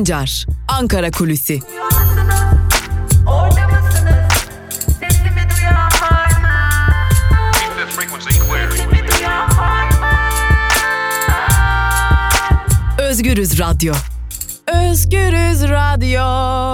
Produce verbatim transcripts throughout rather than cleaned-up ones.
Sancar, Ankara Kulüsi. Orada mısınız? Sesimi duyan var mı? Sesimi duyan var mı? Özgürüz Radyo. Özgürüz Radyo.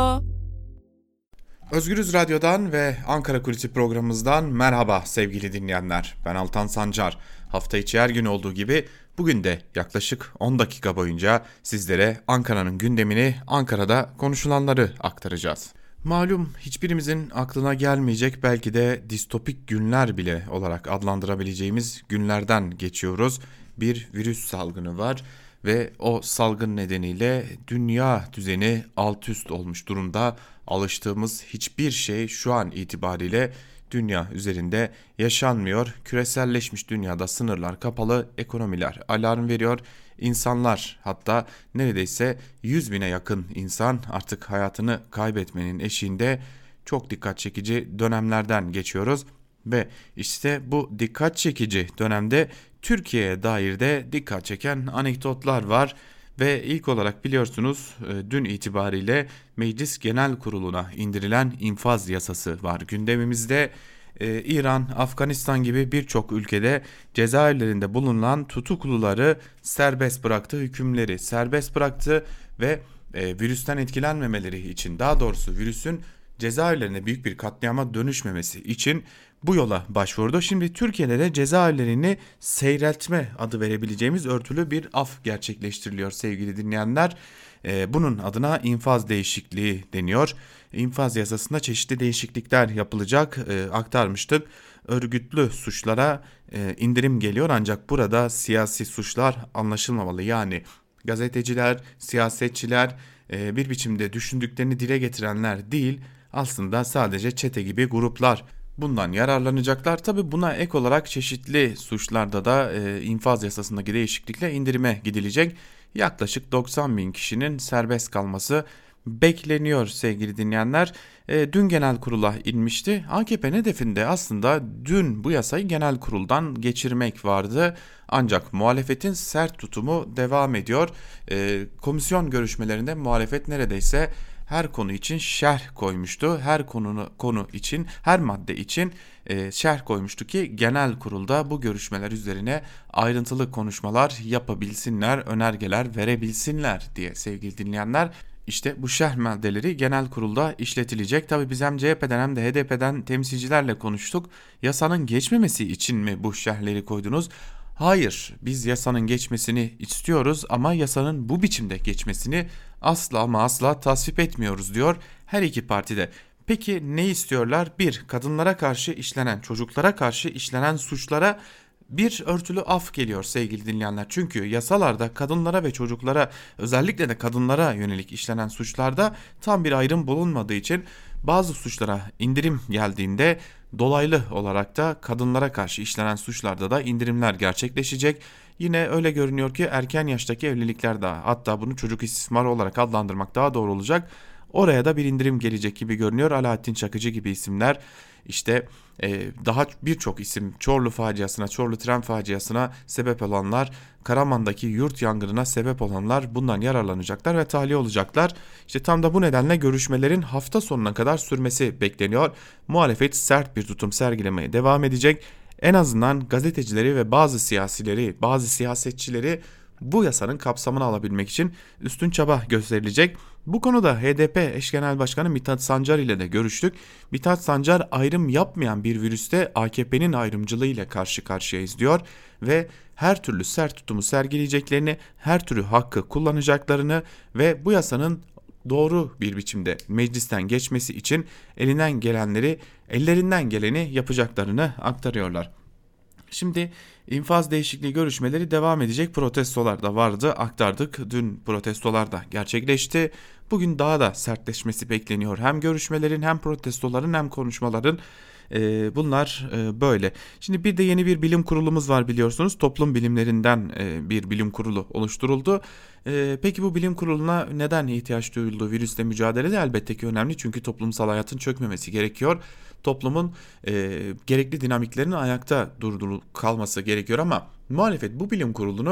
Özgürüz Radyo'dan ve Ankara Kulisi programımızdan merhaba sevgili dinleyenler. Ben Altan Sancar. Hafta içi her gün olduğu gibi bugün de yaklaşık on dakika boyunca sizlere Ankara'nın gündemini, Ankara'da konuşulanları aktaracağız. Malum hiçbirimizin aklına gelmeyecek, belki de distopik günler bile olarak adlandırabileceğimiz günlerden geçiyoruz. Bir virüs salgını var ve o salgın nedeniyle dünya düzeni alt üst olmuş durumda. Alıştığımız hiçbir şey şu an itibariyle dünya üzerinde yaşanmıyor. Küreselleşmiş dünyada sınırlar kapalı, ekonomiler alarm veriyor. İnsanlar, hatta neredeyse yüz bine yakın insan artık hayatını kaybetmenin eşiğinde. Çok dikkat çekici dönemlerden geçiyoruz. Ve işte bu dikkat çekici dönemde Türkiye'ye dair de dikkat çeken anekdotlar var. Ve ilk olarak biliyorsunuz dün itibariyle Meclis Genel Kurulu'na indirilen infaz yasası var gündemimizde. Ee, İran, Afganistan gibi birçok ülkede cezaevlerinde bulunan tutukluları serbest bıraktı, hükümleri serbest bıraktı ve e, virüsten etkilenmemeleri için, daha doğrusu virüsün cezaevlerine büyük bir katliama dönüşmemesi için bu yola başvurdu. Şimdi Türkiye'de de cezaevlerini seyreltme adı verebileceğimiz örtülü bir af gerçekleştiriliyor sevgili dinleyenler. Ee, bunun adına infaz değişikliği deniyor. İnfaz yasasında çeşitli değişiklikler yapılacak, ee, aktarmıştık. Örgütlü suçlara e, indirim geliyor, ancak burada siyasi suçlar anlaşılmamalı. Yani gazeteciler, siyasetçiler, e, bir biçimde düşündüklerini dile getirenler değil, aslında sadece çete gibi gruplar bundan yararlanacaklar. Tabi buna ek olarak çeşitli suçlarda da e, infaz yasasındaki değişiklikle indirime gidilecek. Yaklaşık doksan bin kişinin serbest kalması bekleniyor sevgili dinleyenler. E, dün genel kurula inmişti. A K P'nin hedefinde aslında dün bu yasayı genel kuruldan geçirmek vardı. Ancak muhalefetin sert tutumu devam ediyor. E, komisyon görüşmelerinde muhalefet neredeyse her konu için şerh koymuştu. Her konu konu için, her madde için e, şerh koymuştu ki genel kurulda bu görüşmeler üzerine ayrıntılı konuşmalar yapabilsinler, önergeler verebilsinler diye sevgili dinleyenler. İşte bu şerh maddeleri genel kurulda işletilecek. Tabii biz hem C H P'den hem de H D P'den temsilcilerle konuştuk. Yasanın geçmemesi için mi bu şerhleri koydunuz? Hayır, biz yasanın geçmesini istiyoruz ama yasanın bu biçimde geçmesini asla ama asla tasvip etmiyoruz diyor her iki parti de. Peki ne istiyorlar? Bir, kadınlara karşı işlenen, çocuklara karşı işlenen suçlara bir örtülü af geliyor sevgili dinleyenler. Çünkü yasalarda kadınlara ve çocuklara, özellikle de kadınlara yönelik işlenen suçlarda tam bir ayrım bulunmadığı için bazı suçlara indirim geldiğinde dolaylı olarak da kadınlara karşı işlenen suçlarda da indirimler gerçekleşecek. Yine öyle görünüyor ki erken yaştaki evlilikler de, hatta bunu çocuk istismarı olarak adlandırmak daha doğru olacak, oraya da bir indirim gelecek gibi görünüyor. Alaaddin Çakıcı gibi isimler, işte e, daha birçok isim, Çorlu faciasına, Çorlu tren faciasına sebep olanlar, Karaman'daki yurt yangınına sebep olanlar bundan yararlanacaklar ve tahliye olacaklar. İşte tam da bu nedenle görüşmelerin hafta sonuna kadar sürmesi bekleniyor. Muhalefet sert bir tutum sergilemeye devam edecek. En azından gazetecileri ve bazı siyasileri, bazı siyasetçileri bu yasanın kapsamını alabilmek için üstün çaba gösterilecek. Bu konuda H D P eş genel başkanı Mithat Sancar ile de görüştük. Mithat Sancar ayrım yapmayan bir virüste A K P'nin ayrımcılığı ile karşı karşıyayız diyor ve her türlü sert tutumu sergileyeceklerini, her türlü hakkı kullanacaklarını ve bu yasanın doğru bir biçimde meclisten geçmesi için elinden gelenleri, ellerinden geleni yapacaklarını aktarıyorlar. Şimdi infaz değişikliği görüşmeleri devam edecek. Protestolar da vardı, aktardık. Dün protestolar da gerçekleşti. Bugün daha da sertleşmesi bekleniyor. Hem görüşmelerin, hem protestoların, hem konuşmaların. Ee, bunlar e, böyle. Şimdi bir de yeni bir bilim kurulumuz var biliyorsunuz. Toplum bilimlerinden e, bir bilim kurulu oluşturuldu. E, peki bu bilim kuruluna neden ihtiyaç duyuldu? Virüsle mücadelede elbette ki önemli. Çünkü toplumsal hayatın çökmemesi gerekiyor. Toplumun e, gerekli dinamiklerinin ayakta durduğu kalması gerekiyor ama muhalefet bu bilim kurulunu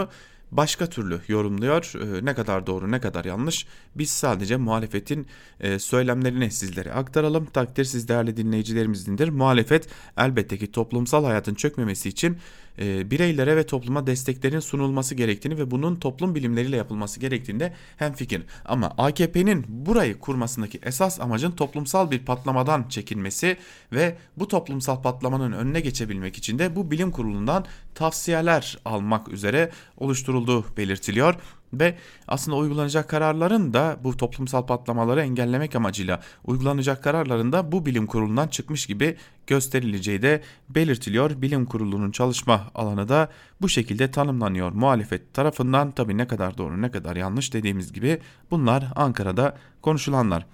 başka türlü yorumluyor. E, ne kadar doğru ne kadar yanlış, biz sadece muhalefetin e, söylemlerini sizlere aktaralım. Takdir siz değerli dinleyicilerimizdendir. Muhalefet elbette ki toplumsal hayatın çökmemesi için e, bireylere ve topluma desteklerin sunulması gerektiğini ve bunun toplum bilimleriyle yapılması gerektiğinde hemfikir. Ama A K P'nin burayı kurmasındaki esas amacın toplumsal bir patlamadan çekinmesi ve bu toplumsal patlamanın önüne geçebilmek için de bu bilim kurulundan tavsiyeler almak üzere oluşturulduğu belirtiliyor. Ve aslında uygulanacak kararların da bu toplumsal patlamaları engellemek amacıyla uygulanacak kararların da bu bilim kurulundan çıkmış gibi gösterileceği de belirtiliyor. Bilim kurulunun çalışma alanı da bu şekilde tanımlanıyor muhalefet tarafından. Tabii ne kadar doğru ne kadar yanlış, dediğimiz gibi bunlar Ankara'da konuşulanlar.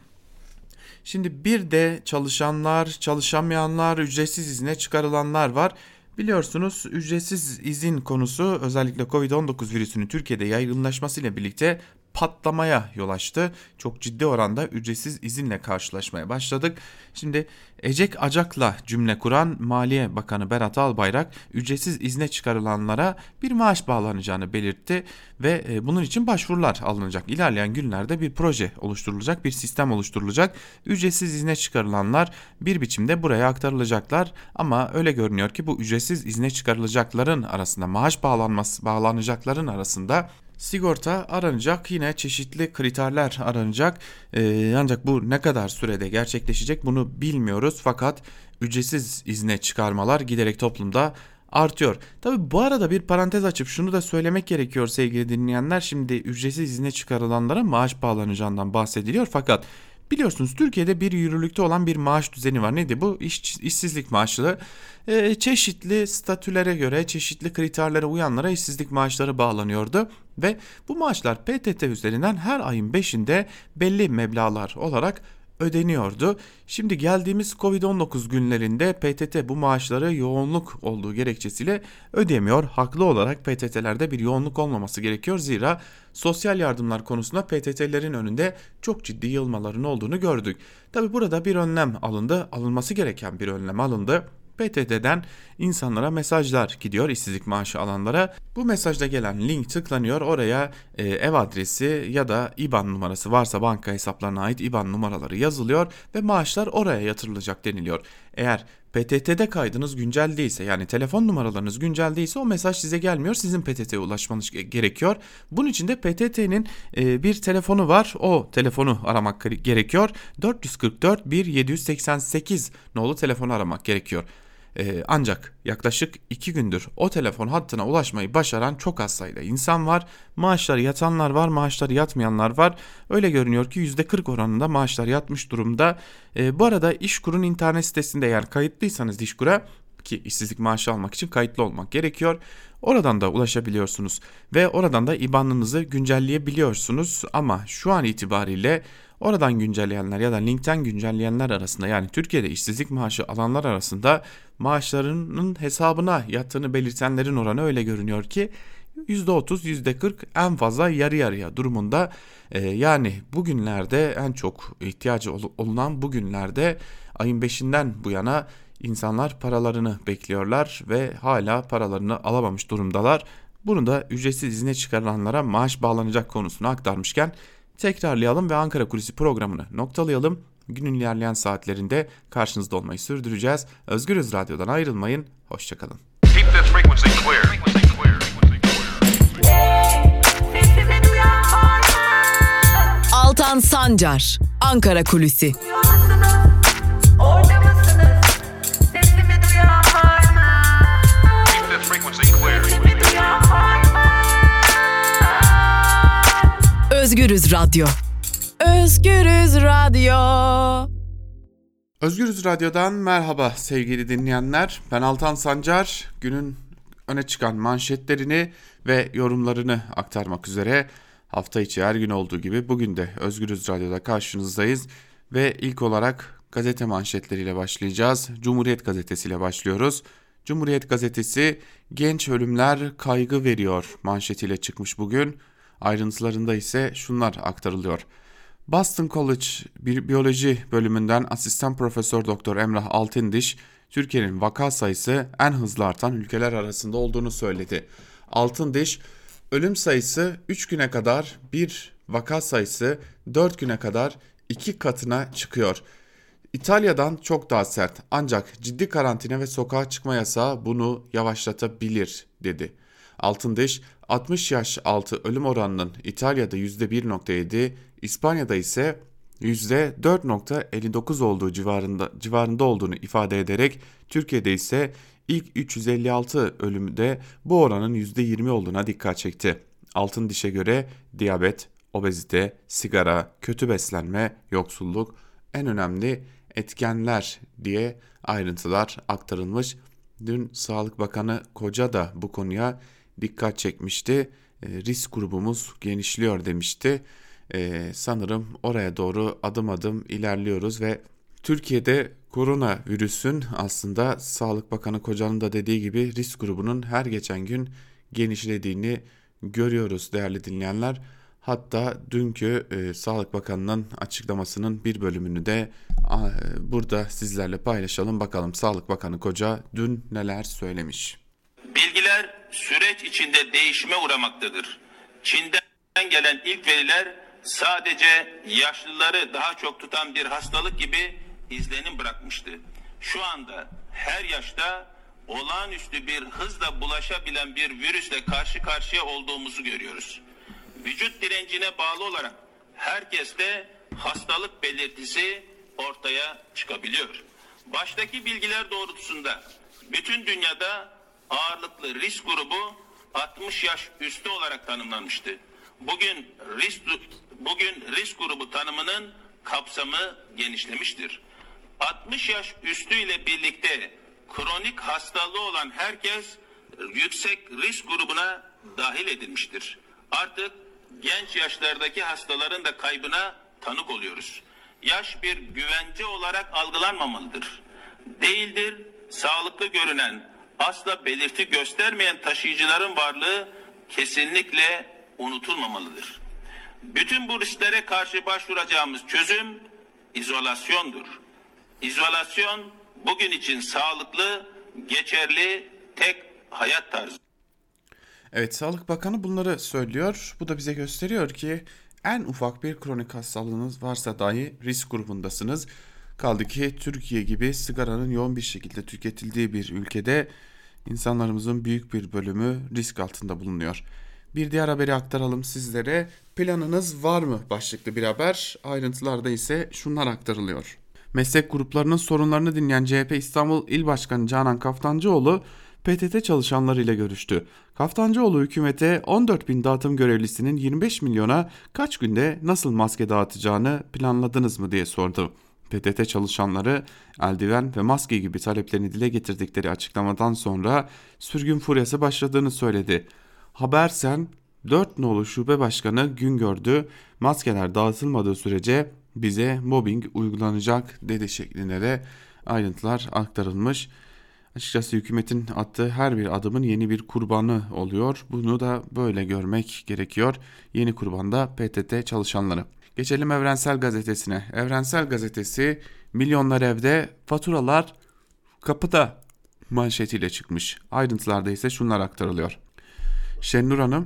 Şimdi bir de çalışanlar, çalışamayanlar, ücretsiz izne çıkarılanlar var. Biliyorsunuz ücretsiz izin konusu özellikle kovid on dokuz virüsünün Türkiye'de yaygınlaşmasıyla birlikte patlamaya yol açtı. Çok ciddi oranda ücretsiz izinle karşılaşmaya başladık. Şimdi ecek acakla cümle kuran Maliye Bakanı Berat Albayrak ücretsiz izne çıkarılanlara bir maaş bağlanacağını belirtti ve bunun için başvurular alınacak. İlerleyen günlerde bir proje oluşturulacak, bir sistem oluşturulacak. Ücretsiz izne çıkarılanlar bir biçimde buraya aktarılacaklar ama öyle görünüyor ki bu ücretsiz izne çıkarılacakların arasında, maaş bağlanması bağlanacakların arasında sigorta aranacak, yine çeşitli kriterler aranacak. Ee, ancak bu ne kadar sürede gerçekleşecek bunu bilmiyoruz. Fakat ücretsiz izne çıkarmalar giderek toplumda artıyor. Tabii bu arada bir parantez açıp şunu da söylemek gerekiyor sevgili dinleyenler. Şimdi ücretsiz izne çıkarılanlara maaş bağlanacağından bahsediliyor fakat biliyorsunuz Türkiye'de bir yürürlükte olan bir maaş düzeni var. Neydi bu? İş, işsizlik maaşları. Ee, çeşitli statülere göre, çeşitli kriterlere uyanlara işsizlik maaşları bağlanıyordu. Ve bu maaşlar P T T üzerinden her ayın beşinde belli meblağlar olarak ödeniyordu. Şimdi geldiğimiz kovid on dokuz günlerinde P T T bu maaşları yoğunluk olduğu gerekçesiyle ödemiyor. Haklı olarak P T T'lerde bir yoğunluk olmaması gerekiyor. Zira sosyal yardımlar konusunda P T T'lerin önünde çok ciddi yığılmaların olduğunu gördük. Tabi burada bir önlem alındı. Alınması gereken bir önlem alındı. P T T'den insanlara mesajlar gidiyor, işsizlik maaşı alanlara. Bu mesajda gelen link tıklanıyor. Oraya e, ev adresi ya da I B A N numarası varsa banka hesaplarına ait I B A N numaraları yazılıyor ve maaşlar oraya yatırılacak deniliyor. Eğer P T T'de kaydınız güncel değilse, yani telefon numaralarınız güncel değilse o mesaj size gelmiyor. Sizin P T T'ye ulaşmanız gerekiyor. Bunun için de P T T'nin e, bir telefonu var. O telefonu aramak gerekiyor. dört yüz kırk dört bir yedi yüz seksen sekiz nolu telefonu aramak gerekiyor. Ee, ancak yaklaşık iki gündür o telefon hattına ulaşmayı başaran çok az sayıda insan var. Maaşları yatanlar var, maaşları yatmayanlar var. Öyle görünüyor ki yüzde kırk oranında maaşlar yatmış durumda. Ee, bu arada İşkur'un internet sitesinde eğer kayıtlıysanız İşkur'a, ki işsizlik maaşı almak için kayıtlı olmak gerekiyor, oradan da ulaşabiliyorsunuz ve oradan da I B A N'ınızı güncelleyebiliyorsunuz. Ama şu an itibariyle oradan güncelleyenler ya da linkten güncelleyenler arasında, yani Türkiye'de işsizlik maaşı alanlar arasında maaşlarının hesabına yattığını belirtenlerin oranı öyle görünüyor ki yüzde otuz yüzde kırk, en fazla yarı yarıya durumunda. Ee, yani bugünlerde en çok ihtiyacı olunan bugünlerde ayın beşinden bu yana insanlar paralarını bekliyorlar ve hala paralarını alamamış durumdalar. Bunu da ücretsiz izne çıkarılanlara maaş bağlanacak konusunu aktarmışken tekrarlayalım ve Ankara Kulisi programını noktalayalım. Günün ilerleyen saatlerinde karşınızda olmayı sürdüreceğiz. Özgürüz Radyo'dan ayrılmayın. Hoşçakalın. Altan Sancar, Ankara Kulisi. Orada mısınız? Sesimi duyan var mı? Sesimi duyan var mı? Özgürüz Radyo. Özgürüz Radyo. Özgürüz Radyo'dan merhaba sevgili dinleyenler. Ben Altan Sancar. Günün öne çıkan manşetlerini ve yorumlarını aktarmak üzere hafta içi her gün olduğu gibi bugün de Özgürüz Radyo'da karşınızdayız. Ve ilk olarak gazete manşetleriyle başlayacağız. Cumhuriyet Gazetesi ile başlıyoruz. Cumhuriyet Gazetesi genç ölümler kaygı veriyor manşetiyle çıkmış bugün. Ayrıntılarında ise şunlar aktarılıyor. Boston College bir biyoloji bölümünden asistan profesör doktor Emrah Altındiş, Türkiye'nin vaka sayısı en hızlı artan ülkeler arasında olduğunu söyledi. Altındiş, Ölüm sayısı üç güne kadar bir, vaka sayısı dört güne kadar iki katına çıkıyor. İtalya'dan çok daha sert ancak ciddi karantina ve sokağa çıkma yasağı bunu yavaşlatabilir dedi. Altındiş altmış yaş altı ölüm oranının İtalya'da yüzde bir virgül yedi, İspanya'da ise yüzde dört virgül elli dokuz olduğu civarında, civarında olduğunu ifade ederek Türkiye'de ise ilk üç yüz elli altı ölümde bu oranın yüzde yirmi olduğuna dikkat çekti. Altındiş'e göre diyabet, obezite, sigara, kötü beslenme, yoksulluk en önemli etkenler diye ayrıntılar aktarılmış. Dün Sağlık Bakanı Koca da bu konuya dikkat çekmişti. E, risk grubumuz genişliyor demişti. E, sanırım oraya doğru adım adım ilerliyoruz ve Türkiye'de koronavirüsün aslında Sağlık Bakanı Koca'nın da dediği gibi risk grubunun her geçen gün genişlediğini görüyoruz değerli dinleyenler. Hatta dünkü e, Sağlık Bakanı'nın açıklamasının bir bölümünü de a, e, burada sizlerle paylaşalım. Bakalım Sağlık Bakanı Koca dün neler söylemiş. Bilgiler süreç içinde değişime uğramaktadır. Çin'den gelen ilk veriler sadece yaşlıları daha çok tutan bir hastalık gibi izlenim bırakmıştı. Şu anda her yaşta olağanüstü bir hızla bulaşabilen bir virüsle karşı karşıya olduğumuzu görüyoruz. Vücut direncine bağlı olarak herkeste hastalık belirtisi ortaya çıkabiliyor. Baştaki bilgiler doğrultusunda bütün dünyada ağırlıklı risk grubu altmış yaş üstü olarak tanımlanmıştı. Bugün risk bugün risk grubu tanımının kapsamı genişlemiştir. altmış yaş üstü ile birlikte kronik hastalığı olan herkes yüksek risk grubuna dahil edilmiştir. Artık genç yaşlardaki hastaların da kaybına tanık oluyoruz. Yaş bir güvence olarak algılanmamalıdır. Değildir, sağlıklı görünen, asla belirti göstermeyen taşıyıcıların varlığı kesinlikle unutulmamalıdır. Bütün bu risklere karşı başvuracağımız çözüm izolasyondur. İzolasyon bugün için sağlıklı, geçerli tek hayat tarzı. Evet, Sağlık Bakanı bunları söylüyor. Bu da bize gösteriyor ki en ufak bir kronik hastalığınız varsa dahi risk grubundasınız. Kaldı ki Türkiye gibi sigaranın yoğun bir şekilde tüketildiği bir ülkede insanlarımızın büyük bir bölümü risk altında bulunuyor. Bir diğer haberi aktaralım sizlere. Planınız var mı başlıklı bir haber. Ayrıntılarda ise şunlar aktarılıyor. Meslek gruplarının sorunlarını dinleyen C H P İstanbul İl Başkanı Canan Kaftancıoğlu P T T çalışanlarıyla görüştü. Kaftancıoğlu hükümete on dört bin dağıtım görevlisinin yirmi beş milyona kaç günde nasıl maske dağıtacağını planladınız mı diye sordu. P T T çalışanları eldiven ve maske gibi taleplerini dile getirdikleri açıklamadan sonra sürgün furyası başladığını söyledi. Habersen dört nolu şube başkanı Güngör'dü, maskeler dağıtılmadığı sürece bize mobbing uygulanacak dedi şeklinde de ayrıntılar aktarılmış. Açıkçası hükümetin attığı her bir adımın yeni bir kurbanı oluyor. Bunu da böyle görmek gerekiyor. Yeni kurban da P T T çalışanları. Geçelim Evrensel Gazetesi'ne. Evrensel Gazetesi milyonlar evde, faturalar kapıda manşetiyle çıkmış. Ayrıntılarda ise şunlar aktarılıyor. Şenur Hanım,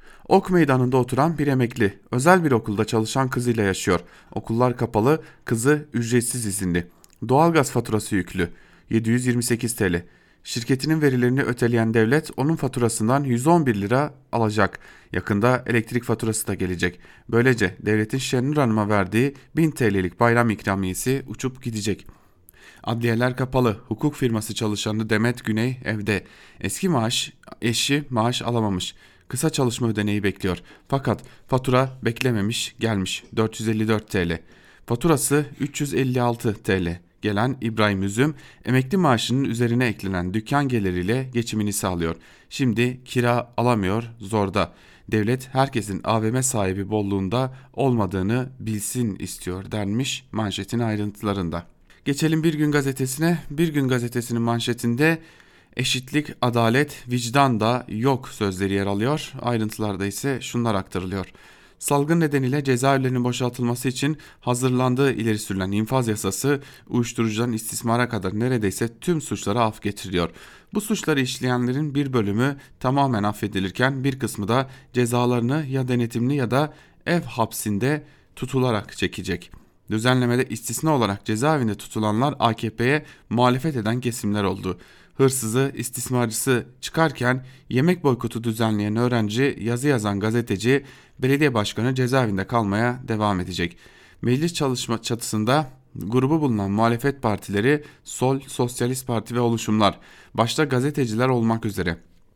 Ok Meydanı'nda oturan bir emekli, özel bir okulda çalışan kızıyla yaşıyor. Okullar kapalı, kızı ücretsiz izinli. Doğalgaz faturası yüklü, yedi yüz yirmi sekiz TL. Şirketinin verilerini öteleyen devlet onun faturasından yüz on bir lira alacak. Yakında elektrik faturası da gelecek. Böylece devletin Şenur Hanım'a verdiği bin TL'lik bayram ikramiyesi uçup gidecek. Adliyeler kapalı. Hukuk firması çalışanı Demet Güney evde. Eski maaş, eşi maaş alamamış. Kısa çalışma ödeneği bekliyor. Fakat fatura beklememiş, gelmiş dört yüz elli dört TL. Faturası üç yüz elli altı TL. Gelen İbrahim Üzüm emekli maaşının üzerine eklenen dükkan geliriyle geçimini sağlıyor. Şimdi kira alamıyor, zorda. Devlet herkesin A V M sahibi bolluğunda olmadığını bilsin istiyor denmiş manşetin ayrıntılarında. Geçelim Bir Gün Gazetesi'ne. Bir Gün Gazetesi'nin manşetinde eşitlik, adalet, vicdan da yok sözleri yer alıyor. Ayrıntılarda ise şunlar aktarılıyor. Salgın nedeniyle cezaevlerinin boşaltılması için hazırlandığı ileri sürülen infaz yasası uyuşturucudan istismara kadar neredeyse tüm suçlara af getiriyor. Bu suçları işleyenlerin bir bölümü tamamen affedilirken bir kısmı da cezalarını ya denetimli ya da ev hapsinde tutularak çekecek. Düzenlemede istisna olarak cezaevinde tutulanlar A K P'ye muhalefet eden kesimler oldu. Hırsızı, istismarcısı çıkarken yemek boykotu düzenleyen öğrenci, yazı yazan gazeteci, belediye başkanı cezaevinde kalmaya devam edecek. Meclis çalışma çatısında grubu bulunan muhalefet partileri, Sol, Sosyalist Parti ve oluşumlar, başta gazeteciler olmak üzere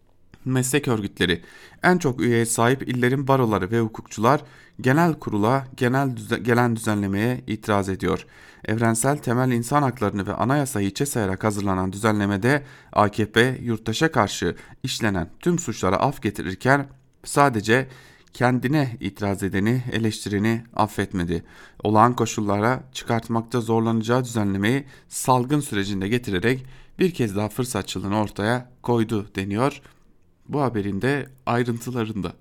meslek örgütleri, en çok üyeye sahip illerin baroları ve hukukçular genel kurula genel düze- gelen düzenlemeye itiraz ediyor. Evrensel temel insan haklarını ve anayasayı içe sayarak hazırlanan düzenlemede A K P yurttaşa karşı işlenen tüm suçlara af getirirken sadece kendine itiraz edeni, eleştireni affetmedi. Olağan koşullara çıkartmakta zorlanacağı düzenlemeyi salgın sürecinde getirerek bir kez daha fırsatçılığını ortaya koydu deniyor bu haberin de ayrıntılarında.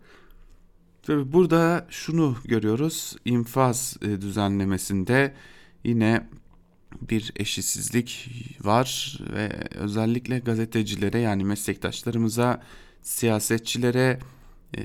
Tabii burada şunu görüyoruz. İnfaz düzenlemesinde yine bir eşitsizlik var ve özellikle gazetecilere, yani meslektaşlarımıza, siyasetçilere e,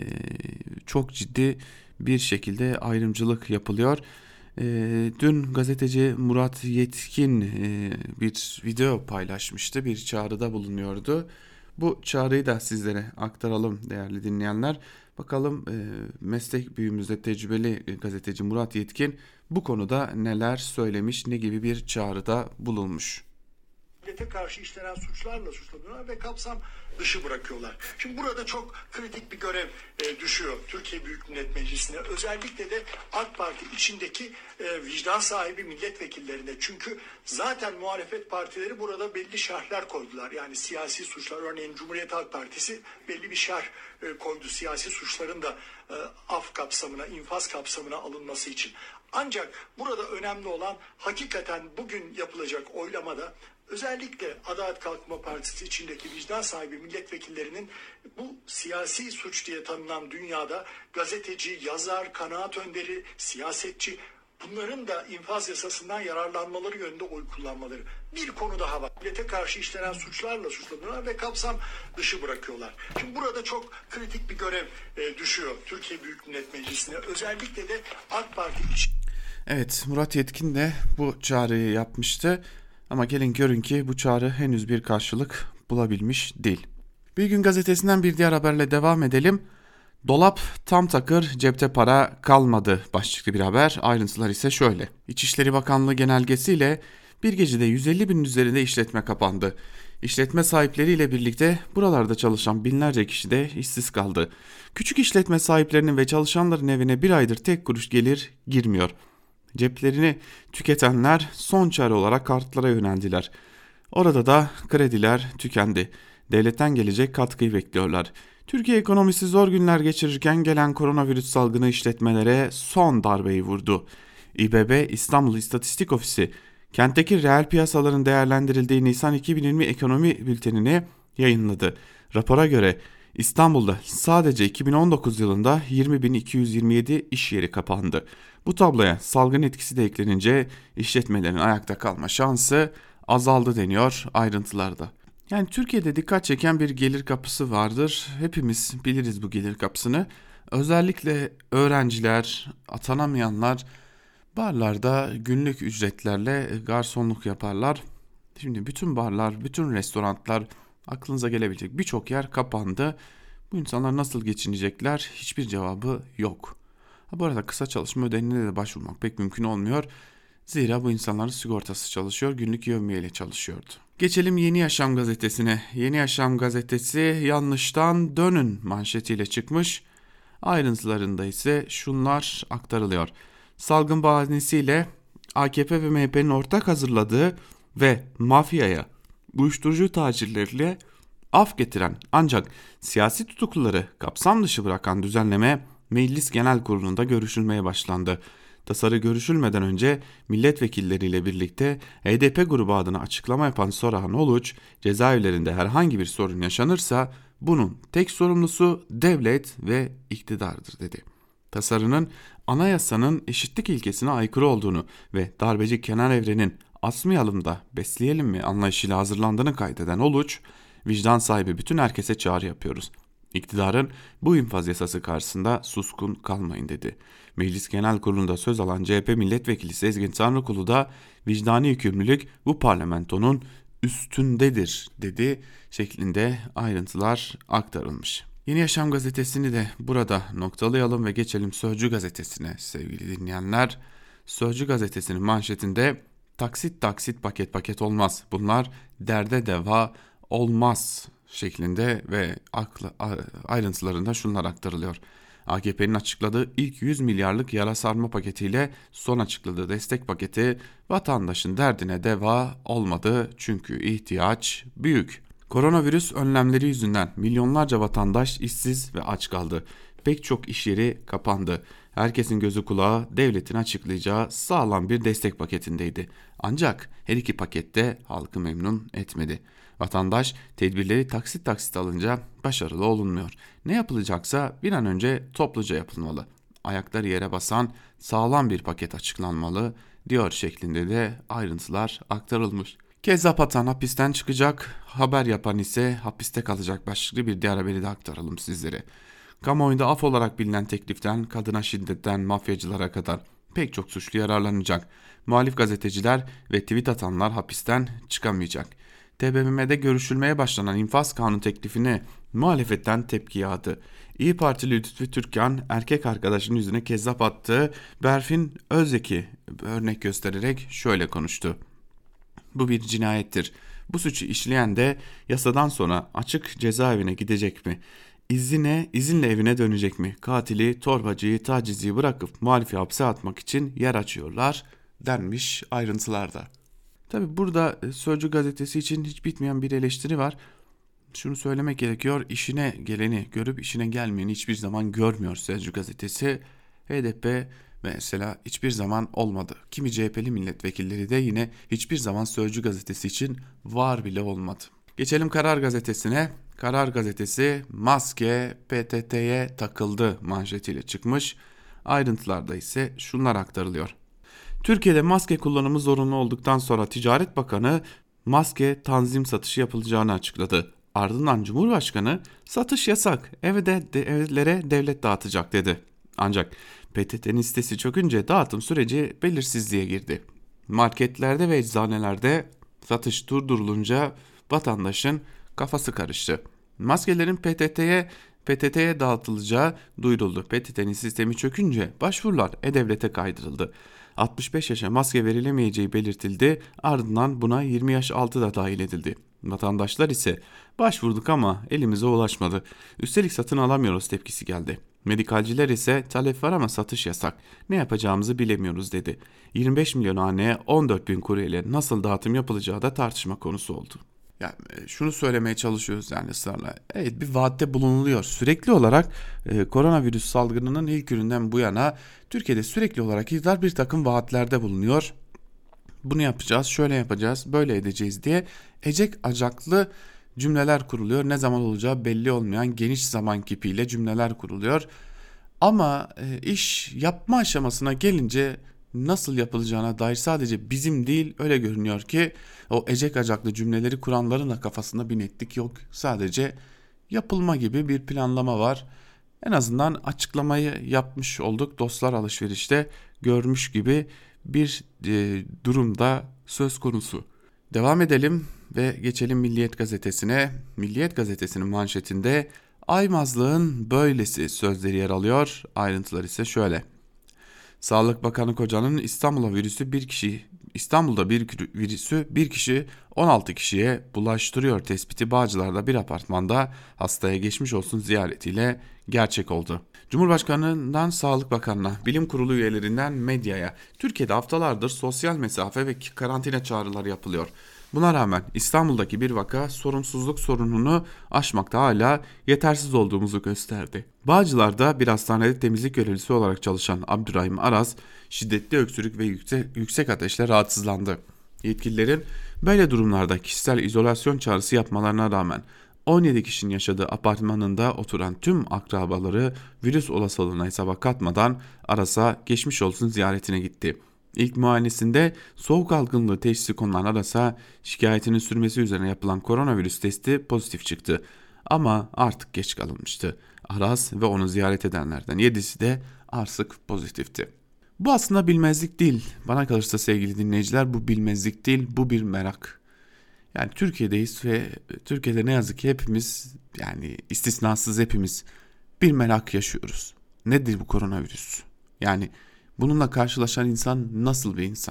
çok ciddi bir şekilde ayrımcılık yapılıyor. E, dün gazeteci Murat Yetkin e, bir video paylaşmıştı, bir çağrıda bulunuyordu. Bu çağrıyı da sizlere aktaralım değerli dinleyenler. Bakalım e, meslek büyüğümüzde tecrübeli e, gazeteci Murat Yetkin bu konuda neler söylemiş, ne gibi bir çağrıda bulunmuş. Devlete karşı işlenen suçlarla suçlanıyorlar ve kapsam dışı bırakıyorlar. Şimdi burada çok kritik bir görev e, düşüyor Türkiye Büyük Millet Meclisi'ne. Özellikle de AK Parti içindeki e, vicdan sahibi milletvekillerine. Çünkü zaten muhalefet partileri burada belli şerhler koydular. Yani siyasi suçlar, örneğin Cumhuriyet Halk Partisi belli bir şerh e, koydu siyasi suçların da e, af kapsamına, infaz kapsamına alınması için. Ancak burada önemli olan hakikaten bugün yapılacak oylamada özellikle Adalet Kalkınma Partisi içindeki vicdan sahibi milletvekillerinin bu siyasi suç diye tanınan dünyada gazeteci, yazar, kanaat önderi, siyasetçi, bunların da infaz yasasından yararlanmaları yönünde oy kullanmaları. Bir konu daha var. Devlete karşı işlenen suçlarla suçlanıyorlar ve kapsam dışı bırakıyorlar. Şimdi burada çok kritik bir görev e, düşüyor Türkiye Büyük Millet Meclisi'ne. Özellikle de AK Parti için. Evet, Murat Yetkin de bu çağrıyı yapmıştı. Ama gelin görün ki bu çağrı henüz bir karşılık bulabilmiş değil. Bir Gün Gazetesi'nden bir diğer haberle devam edelim. Dolap tam takır, cepte para kalmadı başlıklı bir haber. Ayrıntılar ise şöyle. İçişleri Bakanlığı genelgesiyle bir gecede yüz elli binin üzerinde işletme kapandı. İşletme sahipleriyle birlikte buralarda çalışan binlerce kişi de işsiz kaldı. Küçük işletme sahiplerinin ve çalışanların evine bir aydır tek kuruş gelir girmiyor. Ceplerini tüketenler son çare olarak kartlara yöneldiler. Orada da krediler tükendi. Devletten gelecek katkıyı bekliyorlar. Türkiye ekonomisi zor günler geçirirken gelen koronavirüs salgını işletmelere son darbeyi vurdu. İ B B İstanbul İstatistik Ofisi kentteki reel piyasaların değerlendirildiği Nisan iki bin yirmi ekonomi bültenini yayınladı. Rapora göre İstanbul'da sadece iki bin on dokuz yılında yirmi bin iki yüz yirmi yedi iş yeri kapandı. Bu tabloya salgın etkisi de eklenince işletmelerin ayakta kalma şansı azaldı deniyor ayrıntılarda. Yani Türkiye'de dikkat çeken bir gelir kapısı vardır. Hepimiz biliriz bu gelir kapısını. Özellikle öğrenciler, atanamayanlar barlarda günlük ücretlerle garsonluk yaparlar. Şimdi bütün barlar, bütün restoranlar, aklınıza gelebilecek birçok yer kapandı. Bu insanlar nasıl geçinecekler? Hiçbir cevabı yok. Ha, bu arada kısa çalışma ödeneğine de başvurmak pek mümkün olmuyor. Zira bu insanların sigortası çalışıyor, günlük yevmiyeyle çalışıyordu. Geçelim Yeni Yaşam gazetesine. Yeni Yaşam gazetesi yanlıştan dönün manşetiyle çıkmış. Ayrıntılarında ise şunlar aktarılıyor. Salgın bahanesiyle A K P ve M H P'nin ortak hazırladığı ve mafyaya, uyuşturucu tacirleriyle af getiren ancak siyasi tutukluları kapsam dışı bırakan düzenleme Meclis Genel Kurulu'nda görüşülmeye başlandı. Tasarı görüşülmeden önce milletvekilleriyle birlikte H D P grubu adına açıklama yapan Sorahan Oluç, cezaevlerinde herhangi bir sorun yaşanırsa bunun tek sorumlusu devlet ve iktidardır dedi. Tasarının anayasanın eşitlik ilkesine aykırı olduğunu ve darbeci Kenan Evren'in asmayalım da besleyelim mi anlayışıyla hazırlandığını kaydeden Uluç, vicdan sahibi bütün herkese çağrı yapıyoruz. İktidarın bu infaz yasası karşısında suskun kalmayın dedi. Meclis Genel Kurulu'nda söz alan C H P Milletvekili Sezgin Tanrıkulu da vicdani yükümlülük bu parlamentonun üstündedir dedi şeklinde ayrıntılar aktarılmış. Yeni Yaşam gazetesini de burada noktalayalım ve geçelim Sözcü gazetesine sevgili dinleyenler. Sözcü gazetesinin manşetinde taksit taksit paket paket olmaz. Bunlar derde deva olmaz şeklinde ve aklı, ayrıntılarında şunlar aktarılıyor. A K P'nin açıkladığı ilk yüz milyarlık yara sarma paketiyle son açıkladığı destek paketi vatandaşın derdine deva olmadı çünkü ihtiyaç büyük. Koronavirüs önlemleri yüzünden milyonlarca vatandaş işsiz ve aç kaldı. Pek çok iş yeri kapandı. Herkesin gözü kulağı devletin açıklayacağı sağlam bir destek paketindeydi. Ancak her iki pakette halkı memnun etmedi. Vatandaş tedbirleri taksit taksit alınca başarılı olunmuyor. Ne yapılacaksa bir an önce topluca yapılmalı. Ayakları yere basan sağlam bir paket açıklanmalı diyor şeklinde de ayrıntılar aktarılmış. Kezzap atan hapisten çıkacak, haber yapan ise hapiste kalacak başlıklı bir diğer haberi de aktaralım sizlere. Kamuoyunda af olarak bilinen tekliften kadına şiddetten mafyacılara kadar pek çok suçlu yararlanacak. Muhalif gazeteciler ve tweet atanlar hapisten çıkamayacak. T B M M'de görüşülmeye başlanan infaz kanunu teklifine muhalefetten tepki yağdı. İyi Partili Lütfü Türkan erkek arkadaşının yüzüne kezzap attığı Berfin Özek'i örnek göstererek şöyle konuştu. Bu bir cinayettir. Bu suçu işleyen de yasadan sonra açık cezaevine gidecek mi? İzine, izinle evine dönecek mi? Katili, torbacıyı, tacizciyi bırakıp muhalifi hapse atmak için yer açıyorlar denmiş ayrıntılarda. Tabi burada Sözcü gazetesi için hiç bitmeyen bir eleştiri var. Şunu söylemek gerekiyor, işine geleni görüp işine gelmeyeni hiçbir zaman görmüyor Sözcü gazetesi. H D P mesela hiçbir zaman olmadı. Kimi C H P'li milletvekilleri de yine hiçbir zaman Sözcü gazetesi için var bile olmadı. Geçelim Karar gazetesine. Karar gazetesi maske P T T'ye takıldı manşetiyle çıkmış. Ayrıntılarda ise şunlar aktarılıyor. Türkiye'de maske kullanımı zorunlu olduktan sonra Ticaret Bakanı maske tanzim satışı yapılacağını açıkladı. Ardından Cumhurbaşkanı satış yasak, evde de, evlere devlet dağıtacak dedi. Ancak P T T'nin sitesi çökünce dağıtım süreci belirsizliğe girdi. Marketlerde ve eczanelerde satış durdurulunca vatandaşın kafası karıştı. Maskelerin P T T'ye P T T'ye dağıtılacağı duyuruldu. P T T'nin sistemi çökünce başvurular E-Devlet'e kaydırıldı. altmış beş yaşa maske verilemeyeceği belirtildi. Ardından buna yirmi yaş altı da dahil edildi. Vatandaşlar ise başvurduk ama elimize ulaşmadı. Üstelik satın alamıyoruz tepkisi geldi. Medikalciler ise talep var ama satış yasak. Ne yapacağımızı bilemiyoruz dedi. yirmi beş milyon haneye on dört bin kuryeyle nasıl dağıtım yapılacağı da tartışma konusu oldu. Yani şunu söylemeye çalışıyoruz yani ısrarla. Evet, bir vaatte bulunuluyor. Sürekli olarak e, koronavirüs salgınının ilk gününden bu yana Türkiye'de sürekli olarak iktidar bir takım vaatlerde bulunuyor. Bunu yapacağız, şöyle yapacağız, böyle edeceğiz diye ecek acaklı cümleler kuruluyor. Ne zaman olacağı belli olmayan geniş zaman kipiyle cümleler kuruluyor. Ama e, iş yapma aşamasına gelince nasıl yapılacağına dair sadece bizim değil, öyle görünüyor ki o ecek acaklı cümleleri kuranların da kafasında bir netlik yok. Sadece yapılma gibi bir planlama var. En azından açıklamayı yapmış olduk. Dostlar alışverişte görmüş gibi bir e, durumda söz konusu. Devam edelim ve geçelim Milliyet gazetesine. Milliyet gazetesinin manşetinde aymazlığın böylesi sözleri yer alıyor. Ayrıntılar ise şöyle. Sağlık Bakanı Koca'nın İstanbul'a virüsü bir kişi İstanbul'da bir virüsü bir kişi on altı kişiye bulaştırıyor tespiti Bağcılar'da bir apartmanda hastaya geçmiş olsun ziyaretiyle gerçek oldu. Cumhurbaşkanından Sağlık Bakanı'na, bilim kurulu üyelerinden medyaya Türkiye'de haftalardır sosyal mesafe ve karantina çağrıları yapılıyor. Buna rağmen İstanbul'daki bir vaka sorumsuzluk sorununu aşmakta hala yetersiz olduğumuzu gösterdi. Bağcılar'da bir hastanede temizlik görevlisi olarak çalışan Abdurrahim Aras şiddetli öksürük ve yüksek, yüksek ateşle rahatsızlandı. Yetkililerin böyle durumlarda kişisel izolasyon çağrısı yapmalarına rağmen on yedi kişinin yaşadığı apartmanında oturan tüm akrabaları virüs olasılığına hesaba katmadan Aras'a geçmiş olsun ziyaretine gitti. İlk muayenesinde soğuk algınlığı teşhisi konulan Aras'a şikayetinin sürmesi üzerine yapılan koronavirüs testi pozitif çıktı. Ama artık geç kalınmıştı. Aras ve onu ziyaret edenlerden yedisi de artık pozitifti. Bu aslında bilmezlik değil. Bana kalırsa sevgili dinleyiciler, bu bilmezlik değil, bu bir merak. Yani Türkiye'deyiz ve Türkiye'de ne yazık ki hepimiz, yani istisnasız hepimiz bir merak yaşıyoruz. Nedir bu koronavirüs? Yani bununla karşılaşan insan nasıl bir insan?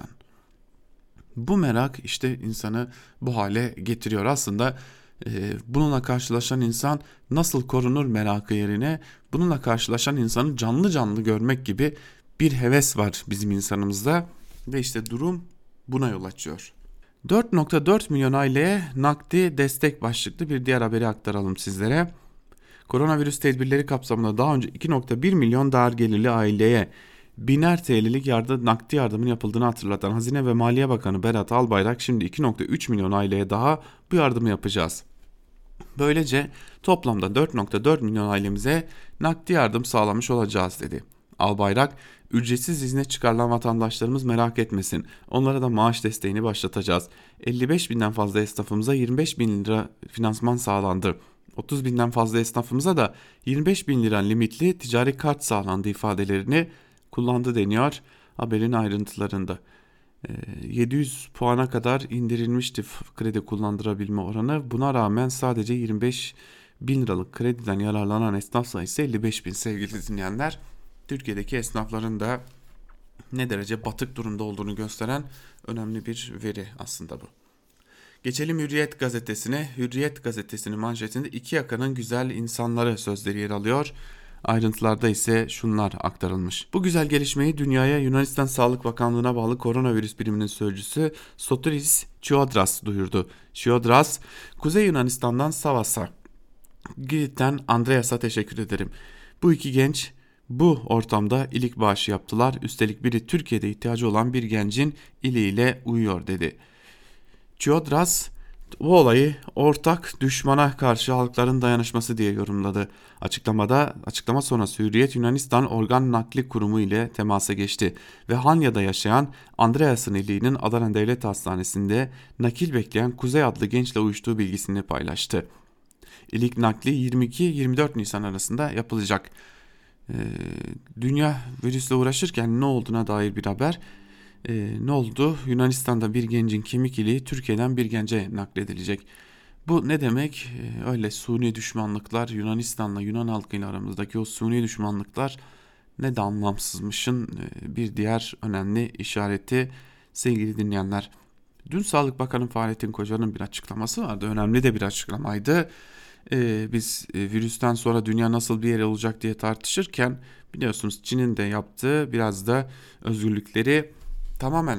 Bu merak işte insanı bu hale getiriyor. Aslında e, bununla karşılaşan insan nasıl korunur merakı yerine bununla karşılaşan insanı canlı canlı görmek gibi bir heves var bizim insanımızda ve işte durum buna yol açıyor. dört nokta dört milyon aileye nakdi destek başlıklı bir diğer haberi aktaralım sizlere. Koronavirüs tedbirleri kapsamında daha önce iki nokta bir milyon dar gelirli aileye biner T L'lik yardım, nakdi yardımın yapıldığını hatırlatan Hazine ve Maliye Bakanı Berat Albayrak şimdi iki nokta üç milyon aileye daha bu yardımı yapacağız. Böylece toplamda dört nokta dört milyon ailemize nakdi yardım sağlamış olacağız dedi. Albayrak, ücretsiz izne çıkarılan vatandaşlarımız merak etmesin, onlara da maaş desteğini başlatacağız. elli beş binden fazla esnafımıza yirmi beş bin lira finansman sağlandı. otuz binden fazla esnafımıza da yirmi beş bin lira limitli ticari kart sağlandı ifadelerini kullandı deniyor haberin ayrıntılarında. yedi yüz puana kadar indirilmişti kredi kullandırabilme oranı. Buna rağmen sadece yirmi beş bin liralık krediden yararlanan esnaf sayısı elli beş bin sevgili dinleyenler. Türkiye'deki esnafların da ne derece batık durumda olduğunu gösteren önemli bir veri aslında bu. Geçelim Hürriyet gazetesine. Hürriyet gazetesinin manşetinde iki yakanın güzel insanları sözleri yer alıyor. Ayrıntılarda ise şunlar aktarılmış. Bu güzel gelişmeyi dünyaya Yunanistan Sağlık Bakanlığı'na bağlı koronavirüs biriminin sözcüsü Sotiris Chiodras duyurdu. Chiodras, Kuzey Yunanistan'dan Savas'a, Girit'ten Andreas'a teşekkür ederim. Bu iki genç bu ortamda ilik bağışı yaptılar. Üstelik biri Türkiye'de ihtiyacı olan bir gencin iliğiyle uyuyor dedi. Chiodras bu olayı ortak düşmana karşı halkların dayanışması diye yorumladı. Açıklamada açıklama sonrası Hürriyet Yunanistan Organ Nakli Kurumu ile temasa geçti ve Hanya'da yaşayan Andreas'ın iliğinin Adana Devlet Hastanesi'nde nakil bekleyen Kuzey adlı gençle uyuştuğu bilgisini paylaştı. İlik nakli yirmi iki yirmi dört Nisan arasında yapılacak. Ee, dünya virüsle uğraşırken ne olduğuna dair bir haber. Ee, ne oldu? Yunanistan'da bir gencin kemik iliği Türkiye'den bir gence nakledilecek. Bu ne demek? Ee, öyle suni düşmanlıklar, Yunanistan'la Yunan halkıyla aramızdaki o suni düşmanlıklar ne de anlamsızmışın ee, bir diğer önemli işareti sevgili dinleyenler. Dün Sağlık Bakanı Fahrettin Koca'nın bir açıklaması vardı. Önemli de bir açıklamaydı. Ee, biz e, virüsten sonra dünya nasıl bir yer olacak diye tartışırken biliyorsunuz Çin'in de yaptığı biraz da özgürlükleri tamamen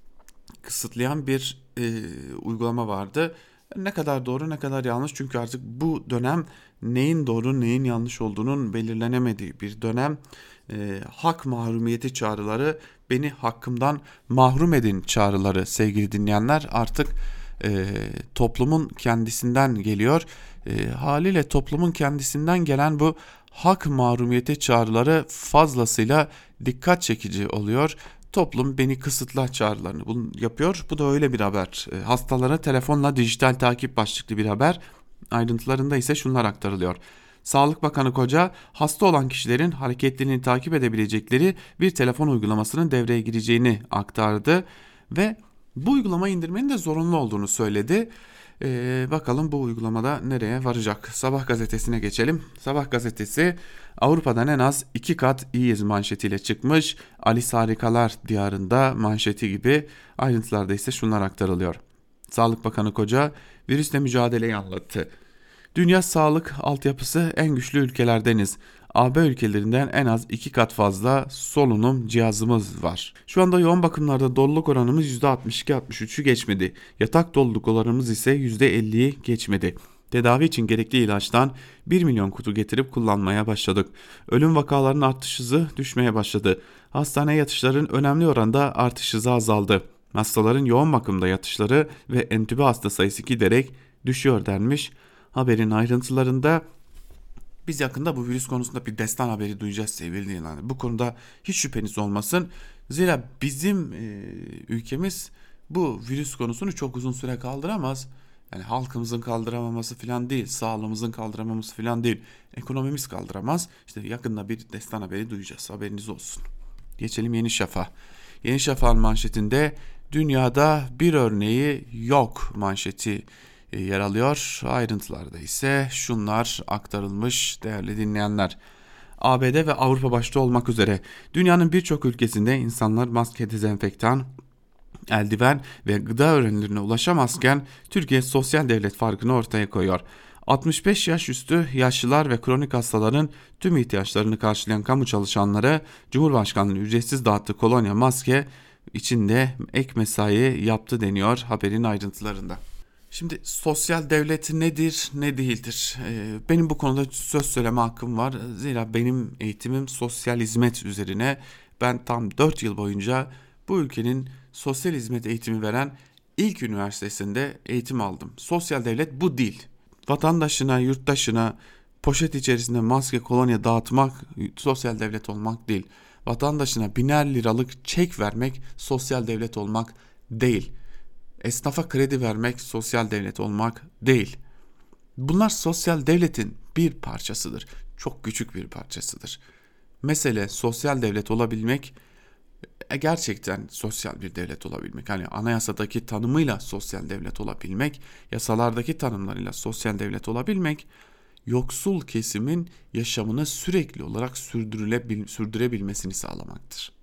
kısıtlayan bir e, uygulama vardı. Ne kadar doğru ne kadar yanlış, çünkü artık bu dönem neyin doğru neyin yanlış olduğunun belirlenemediği bir dönem. E, hak mahrumiyeti çağrıları, beni hakkımdan mahrum edin çağrıları sevgili dinleyenler artık e, toplumun kendisinden geliyor. E, haliyle toplumun kendisinden gelen bu hak mahrumiyeti çağrıları fazlasıyla dikkat çekici oluyor. Toplum beni kısıtla çağrılarını bunu yapıyor. Bu da öyle bir haber. E, hastalara telefonla dijital takip başlıklı bir haber. Ayrıntılarında ise şunlar aktarılıyor. Sağlık Bakanı Koca, hasta olan kişilerin hareketlerini takip edebilecekleri bir telefon uygulamasının devreye gireceğini aktardı ve bu uygulama indirmenin de zorunlu olduğunu söyledi. Ee, bakalım bu uygulamada nereye varacak? Sabah gazetesine geçelim. Sabah gazetesi Avrupa'dan en az iki kat iyiyiz manşetiyle çıkmış. Alice Harikalar Diyarında manşeti gibi. Ayrıntılarda ise şunlar aktarılıyor. Sağlık Bakanı Koca virüsle mücadeleyi anlattı. Dünya sağlık altyapısı en güçlü ülkelerdeniz. A B ülkelerinden en az iki kat fazla solunum cihazımız var. Şu anda yoğun bakımlarda doluluk oranımız yüzde altmış iki altmış üçü geçmedi. Yatak doluluk oranımız ise yüzde elliyi geçmedi. Tedavi için gerekli ilaçtan bir milyon kutu getirip kullanmaya başladık. Ölüm vakalarının artış hızı düşmeye başladı. Hastane yatışların önemli oranda artış hızı azaldı. Hastaların yoğun bakımda yatışları ve entübe hasta sayısı giderek düşüyor denmiş Haberin ayrıntılarında biz yakında bu virüs konusunda bir destan haberi duyacağız sevgili dinleyenler. Bu konuda hiç şüpheniz olmasın. Zira bizim e, ülkemiz bu virüs konusunu çok uzun süre kaldıramaz. Yani halkımızın kaldıramaması falan değil, sağlığımızın kaldıramaması falan değil, ekonomimiz kaldıramaz. İşte yakında bir destan haberi duyacağız, haberiniz olsun. Geçelim Yeni Şafak'a. Yeni Şafak'ın manşetinde dünyada bir örneği yok manşeti yer alıyor. Ayrıntılarda ise şunlar aktarılmış değerli dinleyenler. A B D ve Avrupa başta olmak üzere dünyanın birçok ülkesinde insanlar maske, dezenfektan, eldiven ve gıda ürünlerine ulaşamazken Türkiye sosyal devlet farkını ortaya koyuyor. altmış beş yaş üstü yaşlılar ve kronik hastaların tüm ihtiyaçlarını karşılayan kamu çalışanları Cumhurbaşkanlığı ücretsiz dağıttığı kolonya, maske içinde ek mesai yaptı deniyor haberin ayrıntılarında. Şimdi sosyal devlet nedir, ne değildir? Ee, benim bu konuda söz söyleme hakkım var. Zira benim eğitimim sosyal hizmet üzerine. Ben tam dört yıl boyunca bu ülkenin sosyal hizmet eğitimi veren ilk üniversitesinde eğitim aldım. Sosyal devlet bu değil. Vatandaşına, yurttaşına poşet içerisinde maske, kolonya dağıtmak sosyal devlet olmak değil. Vatandaşına biner liralık çek vermek sosyal devlet olmak değil. Esnafa kredi vermek sosyal devlet olmak değil. Bunlar sosyal devletin bir parçasıdır. Çok küçük bir parçasıdır. Mesele sosyal devlet olabilmek, gerçekten sosyal bir devlet olabilmek. Hani anayasadaki tanımıyla sosyal devlet olabilmek, yasalardaki tanımlarıyla sosyal devlet olabilmek, yoksul kesimin yaşamını sürekli olarak sürdürülebil- sürdürebilmesini sağlamaktır.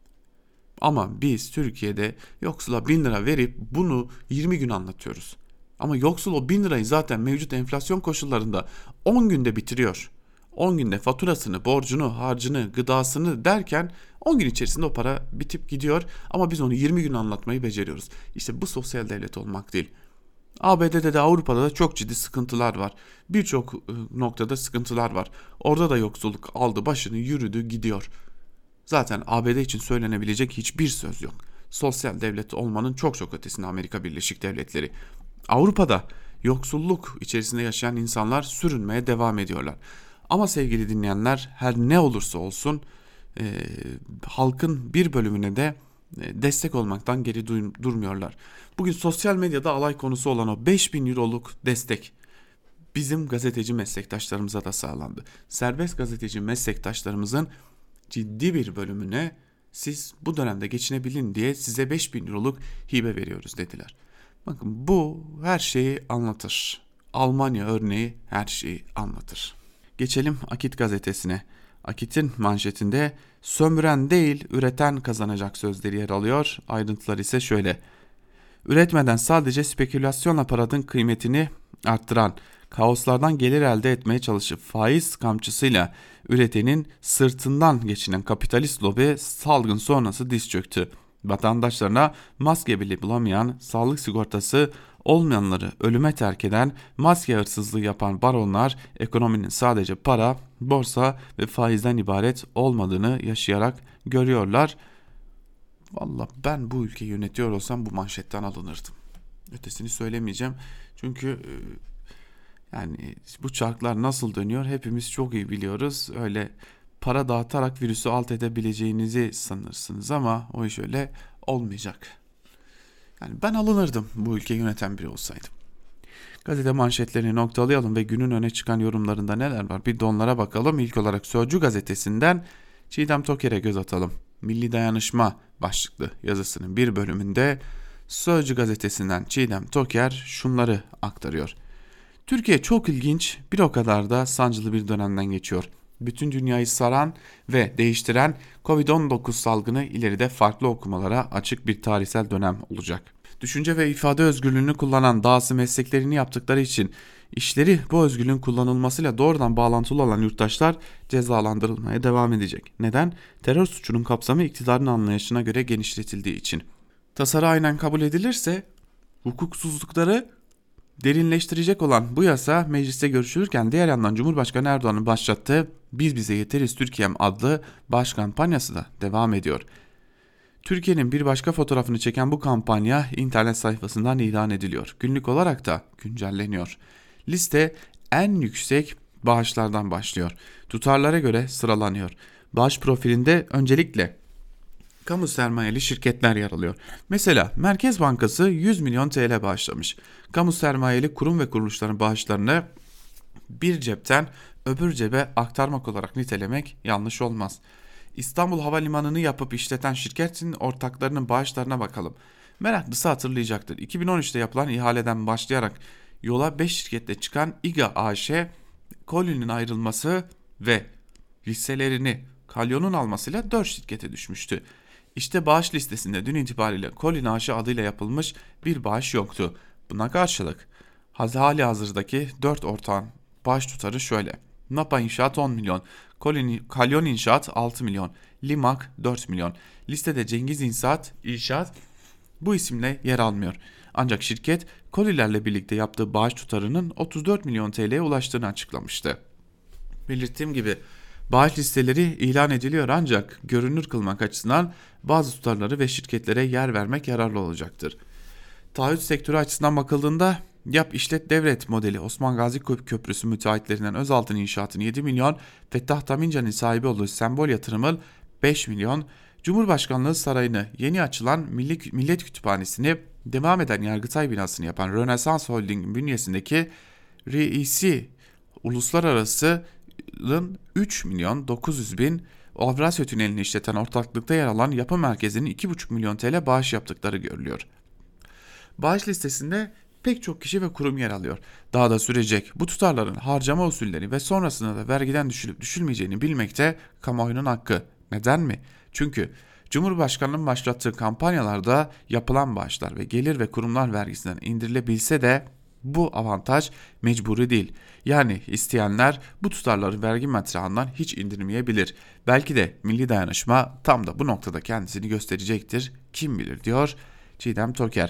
Ama biz Türkiye'de yoksula bin lira verip bunu yirmi gün anlatıyoruz. Ama yoksul o bin lirayı zaten mevcut enflasyon koşullarında on günde bitiriyor. on günde faturasını, borcunu, harcını, gıdasını derken on gün içerisinde o para bitip gidiyor. Ama biz onu yirmi gün anlatmayı beceriyoruz. İşte bu sosyal devlet olmak değil. A B D'de de Avrupa'da da çok ciddi sıkıntılar var. Birçok noktada sıkıntılar var. Orada da yoksulluk aldı başını yürüdü gidiyor. Zaten A B D için söylenebilecek hiçbir söz yok. Sosyal devlet olmanın çok çok ötesinde Amerika Birleşik Devletleri. Avrupa'da yoksulluk içerisinde yaşayan insanlar sürünmeye devam ediyorlar. Ama sevgili dinleyenler, her ne olursa olsun e, halkın bir bölümüne de e, destek olmaktan geri dur- durmuyorlar. Bugün sosyal medyada alay konusu olan o beş bin euroluk destek bizim gazeteci meslektaşlarımıza da sağlandı. Serbest gazeteci meslektaşlarımızın ciddi bir bölümüne siz bu dönemde geçinebilin diye size beş bin euroluk hibe veriyoruz dediler. Bakın bu her şeyi anlatır. Almanya örneği her şeyi anlatır. Geçelim Akit gazetesine. Akit'in manşetinde sömüren değil üreten kazanacak sözleri yer alıyor. Ayrıntılar ise şöyle. Üretmeden sadece spekülasyon aparatın kıymetini arttıran, kaoslardan gelir elde etmeye çalışıp faiz kamçısıyla üretenin sırtından geçinen kapitalist lobi salgın sonrası diz çöktü. Vatandaşlarına maske bile bulamayan, sağlık sigortası olmayanları ölüme terk eden, maske hırsızlığı yapan baronlar ekonominin sadece para, borsa ve faizden ibaret olmadığını yaşayarak görüyorlar. Vallahi ben bu ülkeyi yönetiyor olsam bu manşetten alınırdım. Ötesini söylemeyeceğim. Çünkü yani bu çarklar nasıl dönüyor hepimiz çok iyi biliyoruz. Öyle para dağıtarak virüsü alt edebileceğinizi sanırsınız ama o iş öyle olmayacak. Yani ben alınırdım bu ülkeyi yöneten biri olsaydım. Gazete manşetlerini noktalayalım ve günün öne çıkan yorumlarında neler var bir de onlara bakalım. İlk olarak Sözcü gazetesinden Çiğdem Toker'e göz atalım. Milli Dayanışma başlıklı yazısının bir bölümünde Sözcü gazetesinden Çiğdem Toker şunları aktarıyor. Türkiye çok ilginç, bir o kadar da sancılı bir dönemden geçiyor. Bütün dünyayı saran ve değiştiren kovid on dokuz salgını ileride farklı okumalara açık bir tarihsel dönem olacak. Düşünce ve ifade özgürlüğünü kullanan dahası mesleklerini yaptıkları için işleri bu özgürlüğün kullanılmasıyla doğrudan bağlantılı olan yurttaşlar cezalandırılmaya devam edecek. Neden? Terör suçunun kapsamı iktidarın anlayışına göre genişletildiği için. Tasarı aynen kabul edilirse hukuksuzlukları derinleştirecek olan bu yasa mecliste görüşülürken diğer yandan Cumhurbaşkanı Erdoğan'ın başlattığı Biz Bize Yeteriz Türkiye'm adlı baş kampanyası da devam ediyor. Türkiye'nin bir başka fotoğrafını çeken bu kampanya internet sayfasından ilan ediliyor. Günlük olarak da güncelleniyor. Liste en yüksek bağışlardan başlıyor. Tutarlara göre sıralanıyor. Bağış profilinde öncelikle kamu sermayeli şirketler yer alıyor. Mesela Merkez Bankası yüz milyon T L bağışlamış. Kamu sermayeli kurum ve kuruluşların bağışlarını bir cepten öbür cebe aktarmak olarak nitelemek yanlış olmaz. İstanbul Havalimanı'nı yapıp işleten şirketin ortaklarının bağışlarına bakalım. Meraklısı hatırlayacaktır. iki bin on üçte yapılan ihaleden başlayarak yola beş şirketle çıkan İGA A Ş, Colin'in ayrılması ve hisselerini Kalyon'un almasıyla dört şirkete düşmüştü. İşte bağış listesinde dün itibariyle Colin A Ş adıyla yapılmış bir bağış yoktu. Buna karşılık hali hazırdaki dört ortağın bağış tutarı şöyle: Napa İnşaat on milyon, Colin, Kalyon İnşaat altı milyon, Limak dört milyon. Listede Cengiz İnşaat, İnşaat bu isimle yer almıyor. Ancak şirket Kolilerle birlikte yaptığı bağış tutarının otuz dört milyon T L'ye ulaştığını açıklamıştı. Belirttiğim gibi bağış listeleri ilan ediliyor ancak görünür kılmak açısından bazı tutarları ve şirketlere yer vermek yararlı olacaktır. Taahhüt sektörü açısından bakıldığında yap işlet devret modeli Osman Gazi Köprüsü müteahhitlerinden Özaltın İnşaat'ın yedi milyon, Fettah Tamincan'ın sahibi olduğu Sembol Yatırım'ın beş milyon, Cumhurbaşkanlığı Sarayı'nı, yeni açılan Milli, Millet Kütüphanesi'ni, devam eden Yargıtay binasını yapan Rönesans Holding bünyesindeki R I C Uluslararası'nın üç milyon dokuz yüz bin, Avrasya Tüneli'ni işleten ortaklıkta yer alan Yapı Merkezi'nin iki buçuk milyon T L bağış yaptıkları görülüyor. Bağış listesinde pek çok kişi ve kurum yer alıyor. Daha da sürecek bu tutarların harcama usulleri ve sonrasında da vergiden düşülüp düşülmeyeceğini bilmek de kamuoyunun hakkı. Neden mi? Çünkü Cumhurbaşkanı'nın başlattığı kampanyalarda yapılan bağışlar ve gelir ve kurumlar vergisinden indirilebilse de bu avantaj mecburi değil. Yani isteyenler bu tutarları vergi metrağından hiç indirmeyebilir. Belki de milli dayanışma tam da bu noktada kendisini gösterecektir. Kim bilir diyor Çiğdem Toker.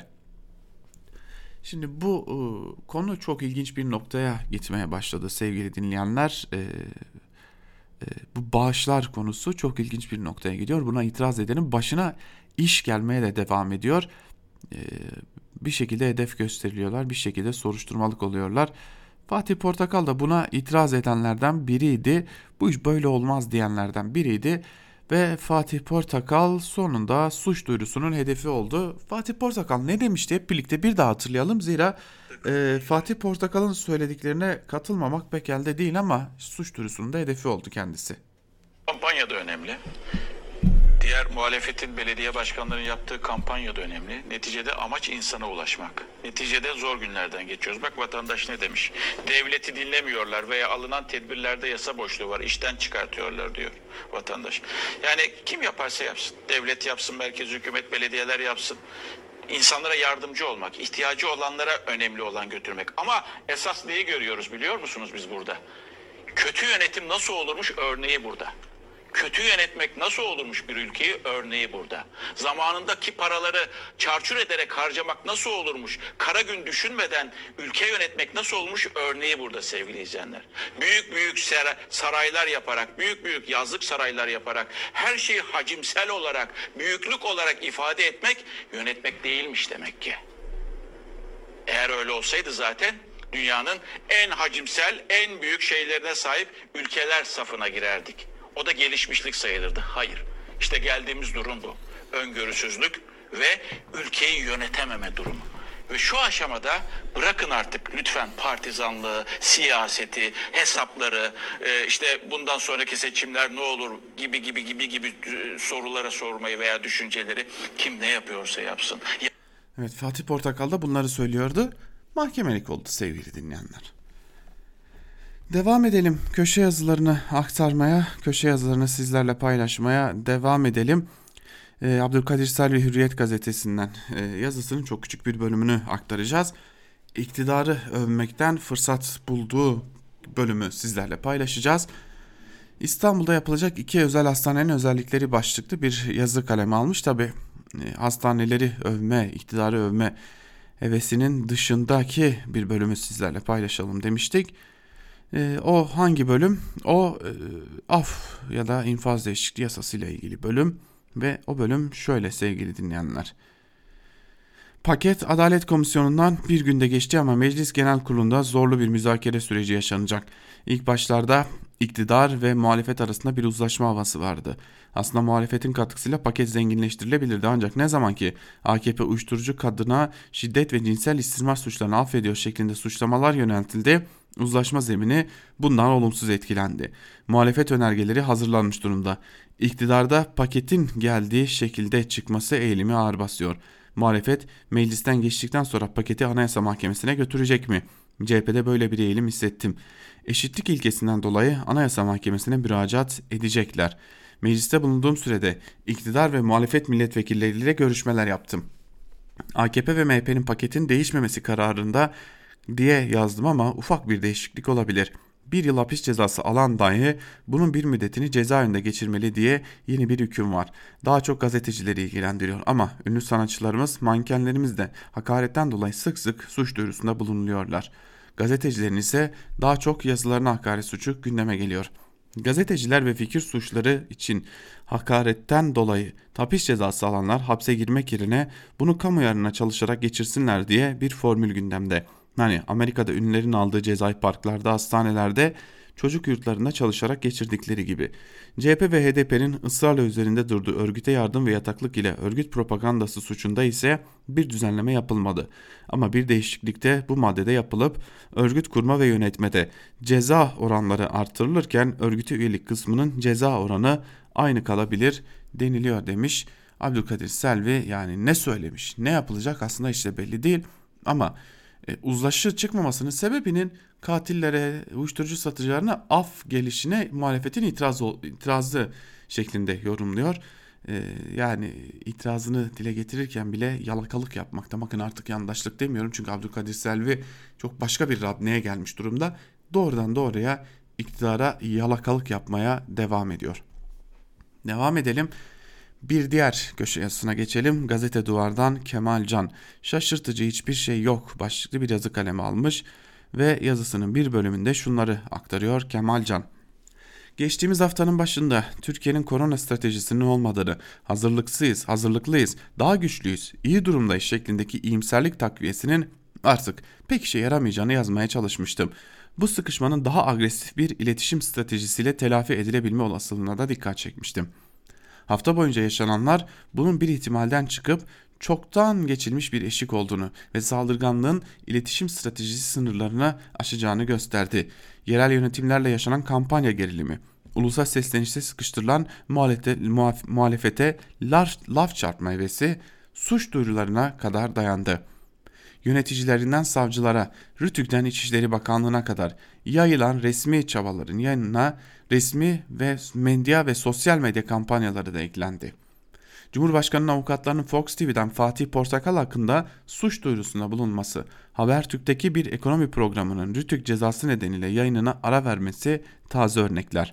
Şimdi bu e, konu çok ilginç bir noktaya gitmeye başladı sevgili dinleyenler. E, e, bu bağışlar konusu çok ilginç bir noktaya gidiyor. Buna itiraz edenin başına iş gelmeye de devam ediyor. E, bir şekilde hedef gösteriliyorlar, bir şekilde soruşturmalık oluyorlar. Fatih Portakal da buna itiraz edenlerden biriydi. Bu iş böyle olmaz diyenlerden biriydi. Ve Fatih Portakal sonunda suç duyurusunun hedefi oldu. Fatih Portakal ne demişti hep birlikte bir daha hatırlayalım. Zira e, Fatih Portakal'ın söylediklerine katılmamak pek elde değil ama suç duyurusunun da hedefi oldu kendisi. Kampanya da önemli. Diğer muhalefetin belediye başkanlarının yaptığı kampanya da önemli. Neticede amaç insana ulaşmak. Neticede zor günlerden geçiyoruz. Bak vatandaş ne demiş? Devleti dinlemiyorlar veya alınan tedbirlerde yasa boşluğu var. İşten çıkartıyorlar diyor vatandaş. Yani kim yaparsa yapsın. Devlet yapsın, merkez hükümet, belediyeler yapsın. İnsanlara yardımcı olmak, ihtiyacı olanlara önemli olan götürmek. Ama esas neyi görüyoruz biliyor musunuz biz burada? Kötü yönetim nasıl olurmuş örneği burada. Kötü yönetmek nasıl olurmuş bir ülkeyi örneği burada. Zamanındaki paraları çarçur ederek harcamak nasıl olurmuş? Kara gün düşünmeden ülke yönetmek nasıl olmuş örneği burada sevgili izleyenler. Büyük büyük saraylar yaparak, büyük büyük yazlık saraylar yaparak, her şeyi hacimsel olarak, büyüklük olarak ifade etmek yönetmek değilmiş demek ki. Eğer öyle olsaydı zaten dünyanın en hacimsel, en büyük şeylerine sahip ülkeler safına girerdik. O da gelişmişlik sayılırdı. Hayır. İşte geldiğimiz durum bu. Öngörüsüzlük ve ülkeyi yönetememe durumu. Ve şu aşamada bırakın artık lütfen partizanlığı, siyaseti, hesapları, işte bundan sonraki seçimler ne olur gibi gibi gibi gibi sorulara sormayı veya düşünceleri kim ne yapıyorsa yapsın. Evet, Fatih Portakal da bunları söylüyordu. Mahkemelik oldu sevgili dinleyenler. Devam edelim köşe yazılarını aktarmaya, köşe yazılarını sizlerle paylaşmaya devam edelim. Ee, Abdülkadir Selvi Hürriyet gazetesinden e, yazısının çok küçük bir bölümünü aktaracağız. İktidarı övmekten fırsat bulduğu bölümü sizlerle paylaşacağız. İstanbul'da yapılacak iki özel hastanenin özellikleri başlıklı bir yazı kaleme almış. Tabi e, hastaneleri övme, iktidarı övme hevesinin dışındaki bir bölümü sizlerle paylaşalım demiştik. E, o hangi bölüm? O e, af ya da infaz değişikliği yasası ile ilgili bölüm ve o bölüm şöyle sevgili dinleyenler. Paket Adalet Komisyonu'ndan bir günde geçti ama Meclis Genel Kurulu'nda zorlu bir müzakere süreci yaşanacak. İlk başlarda iktidar ve muhalefet arasında bir uzlaşma havası vardı. Aslında muhalefetin katkısıyla paket zenginleştirilebilirdi ancak ne zaman ki A K P uyuşturucu kadına şiddet ve cinsel istismar suçlarını affediyor şeklinde suçlamalar yöneltildi, uzlaşma zemini bundan olumsuz etkilendi. Muhalefet önergeleri hazırlanmış durumda. İktidarda paketin geldiği şekilde çıkması eğilimi ağır basıyor. Muhalefet meclisten geçtikten sonra paketi Anayasa Mahkemesi'ne götürecek mi? C H P'de böyle bir eğilim hissettim. Eşitlik ilkesinden dolayı Anayasa Mahkemesi'ne müracaat edecekler. Mecliste bulunduğum sürede iktidar ve muhalefet milletvekilleriyle görüşmeler yaptım. A K P ve M H P'nin paketin değişmemesi kararında diye yazdım ama ufak bir değişiklik olabilir. Bir yıl hapis cezası alan dahi bunun bir müddetini cezaevinde geçirmeli diye yeni bir hüküm var. Daha çok gazetecileri ilgilendiriyor ama ünlü sanatçılarımız, mankenlerimiz de hakaretten dolayı sık sık suç duyurusunda bulunuyorlar. Gazetecilerin ise daha çok yazılarına hakaret suçu gündeme geliyor. Gazeteciler ve fikir suçları için hakaretten dolayı hapis cezası alanlar hapse girmek yerine bunu kamu yararına çalışarak geçirsinler diye bir formül gündemde. Hani Amerika'da ünlülerin aldığı cezayı parklarda, hastanelerde, çocuk yurtlarında çalışarak geçirdikleri gibi. C H P ve H D P'nin ısrarla üzerinde durduğu örgüte yardım ve yataklık ile örgüt propagandası suçunda ise bir düzenleme yapılmadı. Ama bir değişiklik de bu maddede yapılıp örgüt kurma ve yönetmede ceza oranları artırılırken örgüte üyelik kısmının ceza oranı aynı kalabilir deniliyor demiş Abdülkadir Selvi. Yani ne söylemiş, ne yapılacak aslında işte belli değil ama E, uzlaşı çıkmamasının sebebinin katillere, uyuşturucu satıcılarına af gelişine muhalefetin itiraz, itirazı şeklinde yorumluyor. E, yani itirazını dile getirirken bile yalakalık yapmakta. Bakın artık yandaşlık demiyorum çünkü Abdülkadir Selvi çok başka bir radneye gelmiş durumda. Doğrudan doğruya iktidara yalakalık yapmaya devam ediyor. Devam edelim. Bir diğer köşe yazısına geçelim. Gazete Duvar'dan Kemal Can. Şaşırtıcı hiçbir şey yok başlıklı bir yazı kalemi almış ve yazısının bir bölümünde şunları aktarıyor Kemal Can. Geçtiğimiz haftanın başında Türkiye'nin korona stratejisinin olmadığını, hazırlıksız, hazırlıklıyız, daha güçlüyüz, iyi durumdayız şeklindeki iyimserlik takviyesinin artık pek işe yaramayacağını yazmaya çalışmıştım. Bu sıkışmanın daha agresif bir iletişim stratejisiyle telafi edilebilme olasılığına da dikkat çekmiştim. Hafta boyunca yaşananlar bunun bir ihtimalden çıkıp çoktan geçilmiş bir eşik olduğunu ve saldırganlığın iletişim stratejisi sınırlarını aşacağını gösterdi. Yerel yönetimlerle yaşanan kampanya gerilimi, ulusal seslenişte sıkıştırılan muhalefete laf, laf çarpma hevesi suç duyurularına kadar dayandı. Yöneticilerinden savcılara, RTÜK'ten İçişleri Bakanlığı'na kadar yayılan resmi çabaların yanına resmi ve medya ve sosyal medya kampanyaları da eklendi. Cumhurbaşkanı'nın avukatlarının Fox T V'den Fatih Portakal hakkında suç duyurusunda bulunması, Habertürk'teki bir ekonomi programının RTÜK cezası nedeniyle yayınına ara vermesi taze örnekler.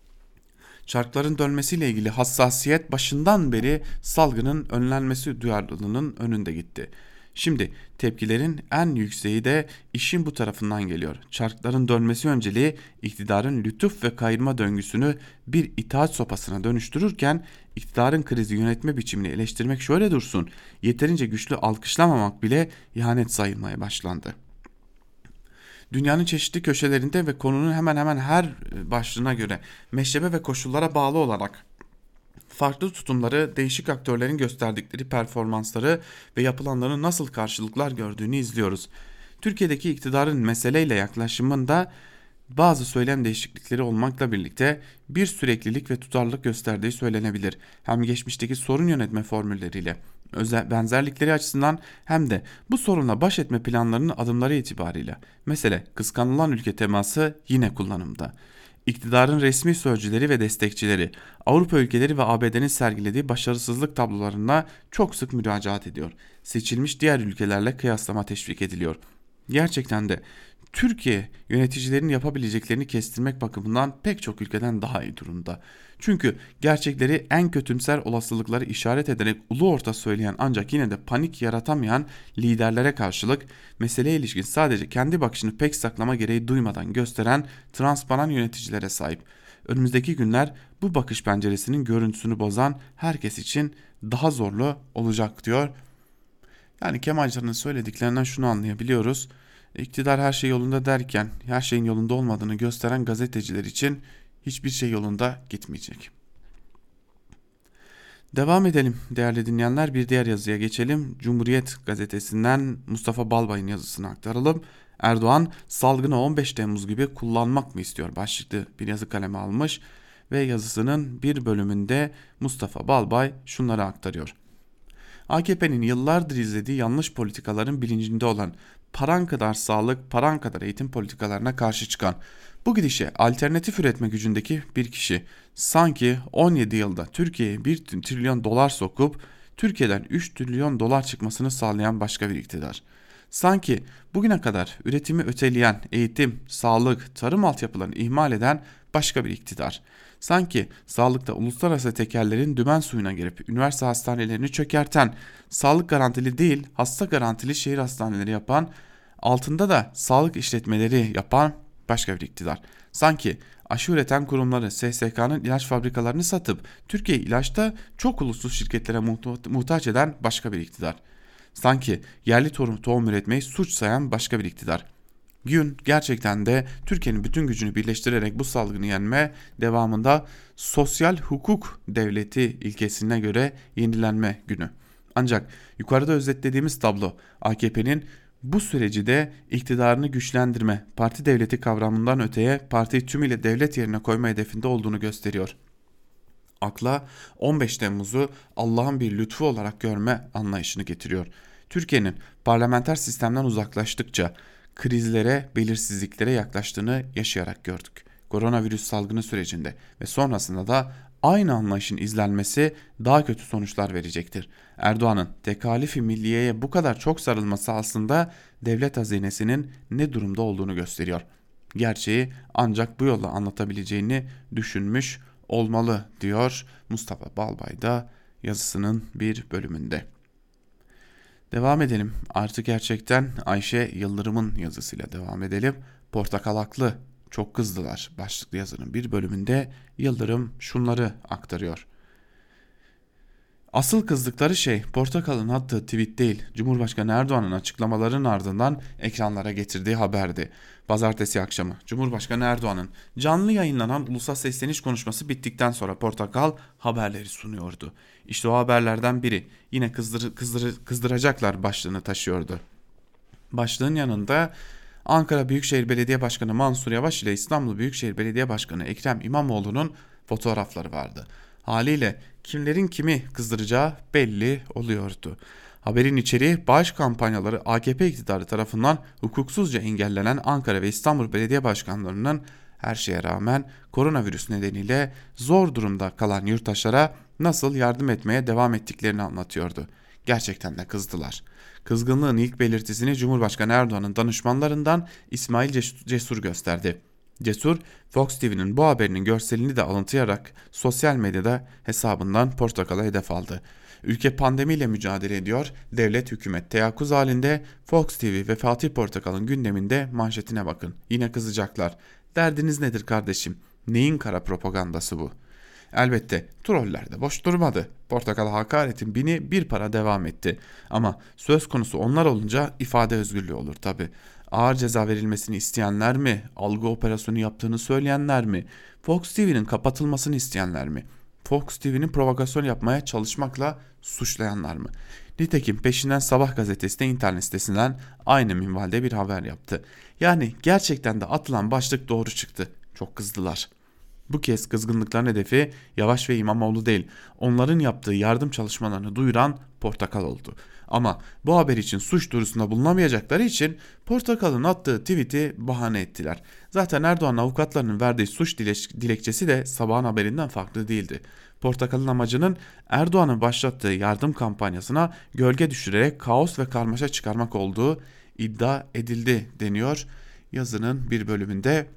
Çarkların dönmesiyle ilgili hassasiyet başından beri salgının önlenmesi duyarlılığının önünde gitti. Şimdi tepkilerin en yükseği de işin bu tarafından geliyor. Çarkların dönmesi önceliği iktidarın lütuf ve kayırma döngüsünü bir itaat sopasına dönüştürürken iktidarın krizi yönetme biçimini eleştirmek şöyle dursun, yeterince güçlü alkışlamamak bile ihanet sayılmaya başlandı. Dünyanın çeşitli köşelerinde ve konunun hemen hemen her başlığına göre meşrebe ve koşullara bağlı olarak farklı tutumları, değişik aktörlerin gösterdikleri performansları ve yapılanların nasıl karşılıklar gördüğünü izliyoruz. Türkiye'deki iktidarın meseleyle yaklaşımında bazı söylem değişiklikleri olmakla birlikte bir süreklilik ve tutarlılık gösterdiği söylenebilir. Hem geçmişteki sorun yönetme formülleriyle, özel benzerlikleri açısından hem de bu sorunla baş etme planlarının adımları itibarıyla. Mesele kıskanılan ülke teması yine kullanımda. İktidarın resmi sözcüleri ve destekçileri Avrupa ülkeleri ve A B D'nin sergilediği başarısızlık tablolarına çok sık müracaat ediyor. Seçilmiş diğer ülkelerle kıyaslama teşvik ediliyor. Gerçekten de Türkiye yöneticilerin yapabileceklerini kestirmek bakımından pek çok ülkeden daha iyi durumda. Çünkü gerçekleri en kötümser olasılıkları işaret ederek ulu orta söyleyen ancak yine de panik yaratamayan liderlere karşılık meseleye ilişkin sadece kendi bakışını pek saklama gereği duymadan gösteren transparan yöneticilere sahip. Önümüzdeki günler bu bakış penceresinin görüntüsünü bozan herkes için daha zorlu olacak diyor Yani Kemalcan'ın söylediklerinden şunu anlayabiliyoruz. İktidar her şey yolunda derken her şeyin yolunda olmadığını gösteren gazeteciler için hiçbir şey yolunda gitmeyecek. Devam edelim değerli dinleyenler, bir diğer yazıya geçelim. Cumhuriyet gazetesinden Mustafa Balbay'ın yazısını aktaralım. Erdoğan salgını on beş Temmuz gibi kullanmak mı istiyor başlıklı bir yazı kaleme almış ve yazısının bir bölümünde Mustafa Balbay şunları aktarıyor. A K P'nin yıllardır izlediği yanlış politikaların bilincinde olan, paran kadar sağlık, paran kadar eğitim politikalarına karşı çıkan, bu gidişe alternatif üretme gücündeki bir kişi sanki on yedi yılda Türkiye'ye bir trilyon dolar sokup Türkiye'den üç trilyon dolar çıkmasını sağlayan başka bir iktidar. Sanki bugüne kadar üretimi öteleyen, eğitim, sağlık, tarım altyapılarını ihmal eden başka bir iktidar. Sanki sağlıkta uluslararası tekerlerin dümen suyuna girip üniversite hastanelerini çökerten, sağlık garantili değil hasta garantili şehir hastaneleri yapan, altında da sağlık işletmeleri yapan başka bir iktidar. Sanki aşı üreten kurumları S S K'nın ilaç fabrikalarını satıp Türkiye ilaçta çok uluslu şirketlere muhtaç eden başka bir iktidar. Sanki yerli tohum, tohum üretmeyi suç sayan başka bir iktidar. Gün gerçekten de Türkiye'nin bütün gücünü birleştirerek bu salgını yenme, devamında sosyal hukuk devleti ilkesine göre yenilenme günü. Ancak yukarıda özetlediğimiz tablo A K P'nin bu süreci de iktidarını güçlendirme, parti devleti kavramından öteye partiyi tümüyle devlet yerine koyma hedefinde olduğunu gösteriyor. Akla on beş Temmuz'u Allah'ın bir lütfu olarak görme anlayışını getiriyor. Türkiye'nin parlamenter sistemden uzaklaştıkça krizlere, belirsizliklere yaklaştığını yaşayarak gördük. Koronavirüs salgını sürecinde ve sonrasında da aynı anlayışın izlenmesi daha kötü sonuçlar verecektir. Erdoğan'ın tekalifi milliyeye bu kadar çok sarılması aslında devlet hazinesinin ne durumda olduğunu gösteriyor. Gerçeği ancak bu yolla anlatabileceğini düşünmüş olmalı diyor Mustafa Balbay da yazısının bir bölümünde. Devam edelim. Artık gerçekten Ayşe Yıldırım'ın yazısıyla devam edelim. Portakal haklı, çok kızdılar başlıklı yazının bir bölümünde Yıldırım şunları aktarıyor. Asıl kızdıkları şey Portakal'ın attığı tweet değil, Cumhurbaşkanı Erdoğan'ın açıklamalarının ardından ekranlara getirdiği haberdi. Pazartesi akşamı Cumhurbaşkanı Erdoğan'ın canlı yayınlanan ulusal sesleniş konuşması bittikten sonra Portakal haberleri sunuyordu. İşte o haberlerden biri yine kızdır, kızdır, kızdıracaklar başlığını taşıyordu. Başlığın yanında Ankara Büyükşehir Belediye Başkanı Mansur Yavaş ile İstanbul Büyükşehir Belediye Başkanı Ekrem İmamoğlu'nun fotoğrafları vardı. Haliyle kimlerin kimi kızdıracağı belli oluyordu. Haberin içeriği bağış kampanyaları A K P iktidarı tarafından hukuksuzca engellenen Ankara ve İstanbul Belediye Başkanlarının her şeye rağmen koronavirüs nedeniyle zor durumda kalan yurttaşlara nasıl yardım etmeye devam ettiklerini anlatıyordu. Gerçekten de kızdılar. Kızgınlığın ilk belirtisini Cumhurbaşkanı Erdoğan'ın danışmanlarından İsmail Cesur gösterdi. Cesur, Fox T V'nin bu haberinin görselini de alıntılayarak sosyal medyada hesabından Portakal'a hedef aldı. Ülke pandemiyle mücadele ediyor, devlet hükümet teyakkuz halinde, Fox T V ve Fatih Portakal'ın gündeminde manşetine bakın. Yine kızacaklar. Derdiniz nedir kardeşim? Neyin kara propagandası bu? Elbette troller de boş durmadı. Portakal hakaretin bini bir para devam etti. Ama söz konusu onlar olunca ifade özgürlüğü olur tabi. Ağır ceza verilmesini isteyenler mi? Algı operasyonu yaptığını söyleyenler mi? Fox T V'nin kapatılmasını isteyenler mi? Fox T V'nin provokasyon yapmaya çalışmakla suçlayanlar mı? Nitekim peşinden Sabah gazetesi de internet sitesinden aynı minvalde bir haber yaptı. Yani gerçekten de atılan başlık doğru çıktı. Çok kızdılar. Bu kez kızgınlıkların hedefi Yavaş ve İmamoğlu değil, onların yaptığı yardım çalışmalarını duyuran Portakal oldu. Ama bu haber için suç duyurusunda bulunamayacakları için Portakal'ın attığı tweet'i bahane ettiler. Zaten Erdoğan'ın avukatlarının verdiği suç dilekçesi de Sabah'ın haberinden farklı değildi. Portakal'ın amacının Erdoğan'ın başlattığı yardım kampanyasına gölge düşürerek kaos ve karmaşa çıkarmak olduğu iddia edildi deniyor yazının bir bölümünde.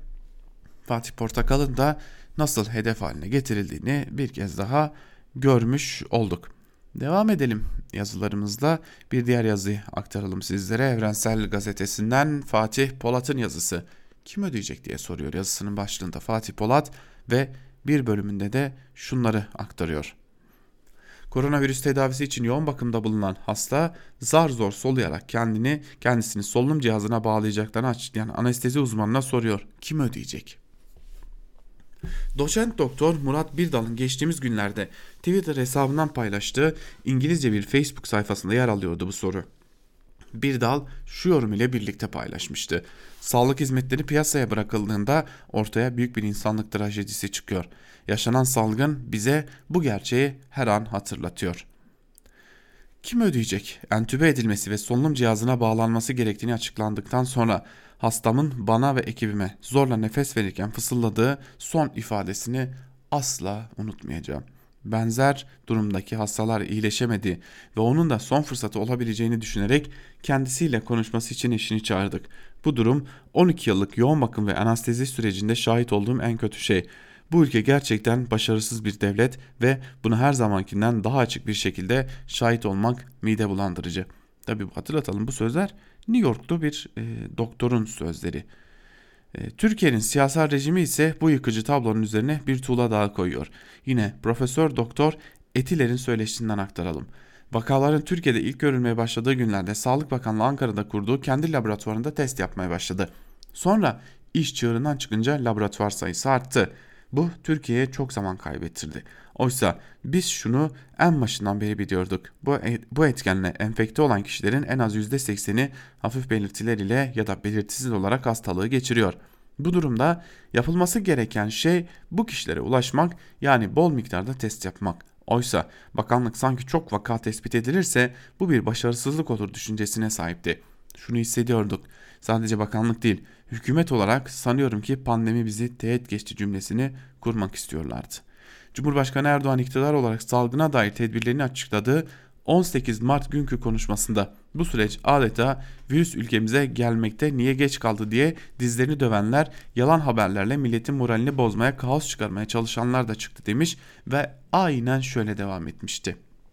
Fatih Portakal'ın da nasıl hedef haline getirildiğini bir kez daha görmüş olduk. Devam edelim yazılarımızla, bir diğer yazıyı aktaralım sizlere. Evrensel Gazetesi'nden Fatih Polat'ın yazısı. Kim ödeyecek diye soruyor yazısının başlığında Fatih Polat ve bir bölümünde de şunları aktarıyor. Koronavirüs tedavisi için yoğun bakımda bulunan hasta zar zor soluyarak kendini kendisini solunum cihazına bağlayacaklarını açıklayan anestezi uzmanına soruyor. Kim ödeyecek? Doçent Doktor Murat Birdal'ın geçtiğimiz günlerde Twitter hesabından paylaştığı İngilizce bir Facebook sayfasında yer alıyordu bu soru. Birdal şu yorum ile birlikte paylaşmıştı. Sağlık hizmetleri piyasaya bırakıldığında ortaya büyük bir insanlık trajedisi çıkıyor. Yaşanan salgın bize bu gerçeği her an hatırlatıyor. Kim ödeyecek? Entübe edilmesi ve solunum cihazına bağlanması gerektiğini açıklandıktan sonra hastamın bana ve ekibime zorla nefes verirken fısıldadığı son ifadesini asla unutmayacağım. Benzer durumdaki hastalar iyileşemedi ve onun da son fırsatı olabileceğini düşünerek kendisiyle konuşması için eşini çağırdık. Bu durum on iki yıllık yoğun bakım ve anestezi sürecinde şahit olduğum en kötü şey. Bu ülke gerçekten başarısız bir devlet ve bunu her zamankinden daha açık bir şekilde şahit olmak mide bulandırıcı. Tabii hatırlatalım, bu sözler New York'ta bir e, doktorun sözleri. E, Türkiye'nin siyasal rejimi ise bu yıkıcı tablonun üzerine bir tuğla daha koyuyor. Yine Profesör Doktor Etiler'in söyleşisinden aktaralım. Vakaların Türkiye'de ilk görülmeye başladığı günlerde Sağlık Bakanlığı Ankara'da kurduğu kendi laboratuvarında test yapmaya başladı. Sonra iş çığırından çıkınca laboratuvar sayısı arttı. Bu Türkiye'ye çok zaman kaybettirdi. Oysa biz şunu en başından beri biliyorduk. Bu, bu etkenle enfekte olan kişilerin en az yüzde sekseni hafif belirtiler ile ya da belirtisiz olarak hastalığı geçiriyor. Bu durumda yapılması gereken şey bu kişilere ulaşmak, yani bol miktarda test yapmak. Oysa bakanlık sanki çok vaka tespit edilirse bu bir başarısızlık olur düşüncesine sahipti. Şunu hissediyorduk. Sadece bakanlık değil, hükümet olarak sanıyorum ki pandemi bizi teğet geçti cümlesini kurmak istiyorlardı. Cumhurbaşkanı Erdoğan iktidar olarak salgına dair tedbirlerini açıkladığı on sekiz Mart günkü konuşmasında bu süreç adeta virüs ülkemize gelmekte niye geç kaldı diye dizlerini dövenler, yalan haberlerle milletin moralini bozmaya, kaos çıkarmaya çalışanlar da çıktı demiş ve aynen şöyle devam etmişti.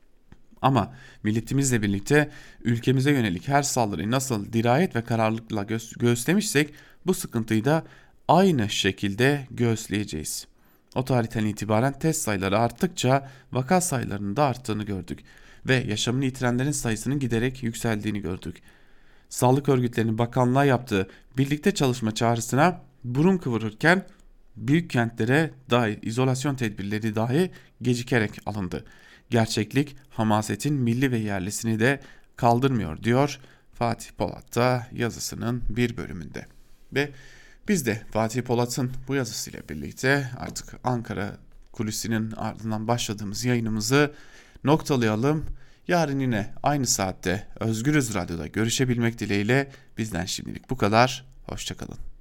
Ama milletimizle birlikte ülkemize yönelik her saldırıyı nasıl dirayet ve kararlılıkla gö- göğüslemişsek bu sıkıntıyı da aynı şekilde göğüsleyeceğiz. O tarihten itibaren test sayıları arttıkça vaka sayılarının da arttığını gördük ve yaşamını yitirenlerin sayısının giderek yükseldiğini gördük. Sağlık örgütlerinin bakanlığa yaptığı birlikte çalışma çağrısına burun kıvırırken büyük kentlere dair izolasyon tedbirleri dahi gecikerek alındı. Gerçeklik hamasetin milli ve yerlisini de kaldırmıyor diyor Fatih Polat da yazısının bir bölümünde. Ve biz de Fatih Polat'ın bu yazısıyla birlikte artık Ankara Kulisi'nin ardından başladığımız yayınımızı noktalayalım. Yarın yine aynı saatte Özgürüz Radyo'da görüşebilmek dileğiyle bizden şimdilik bu kadar. Hoşça kalın.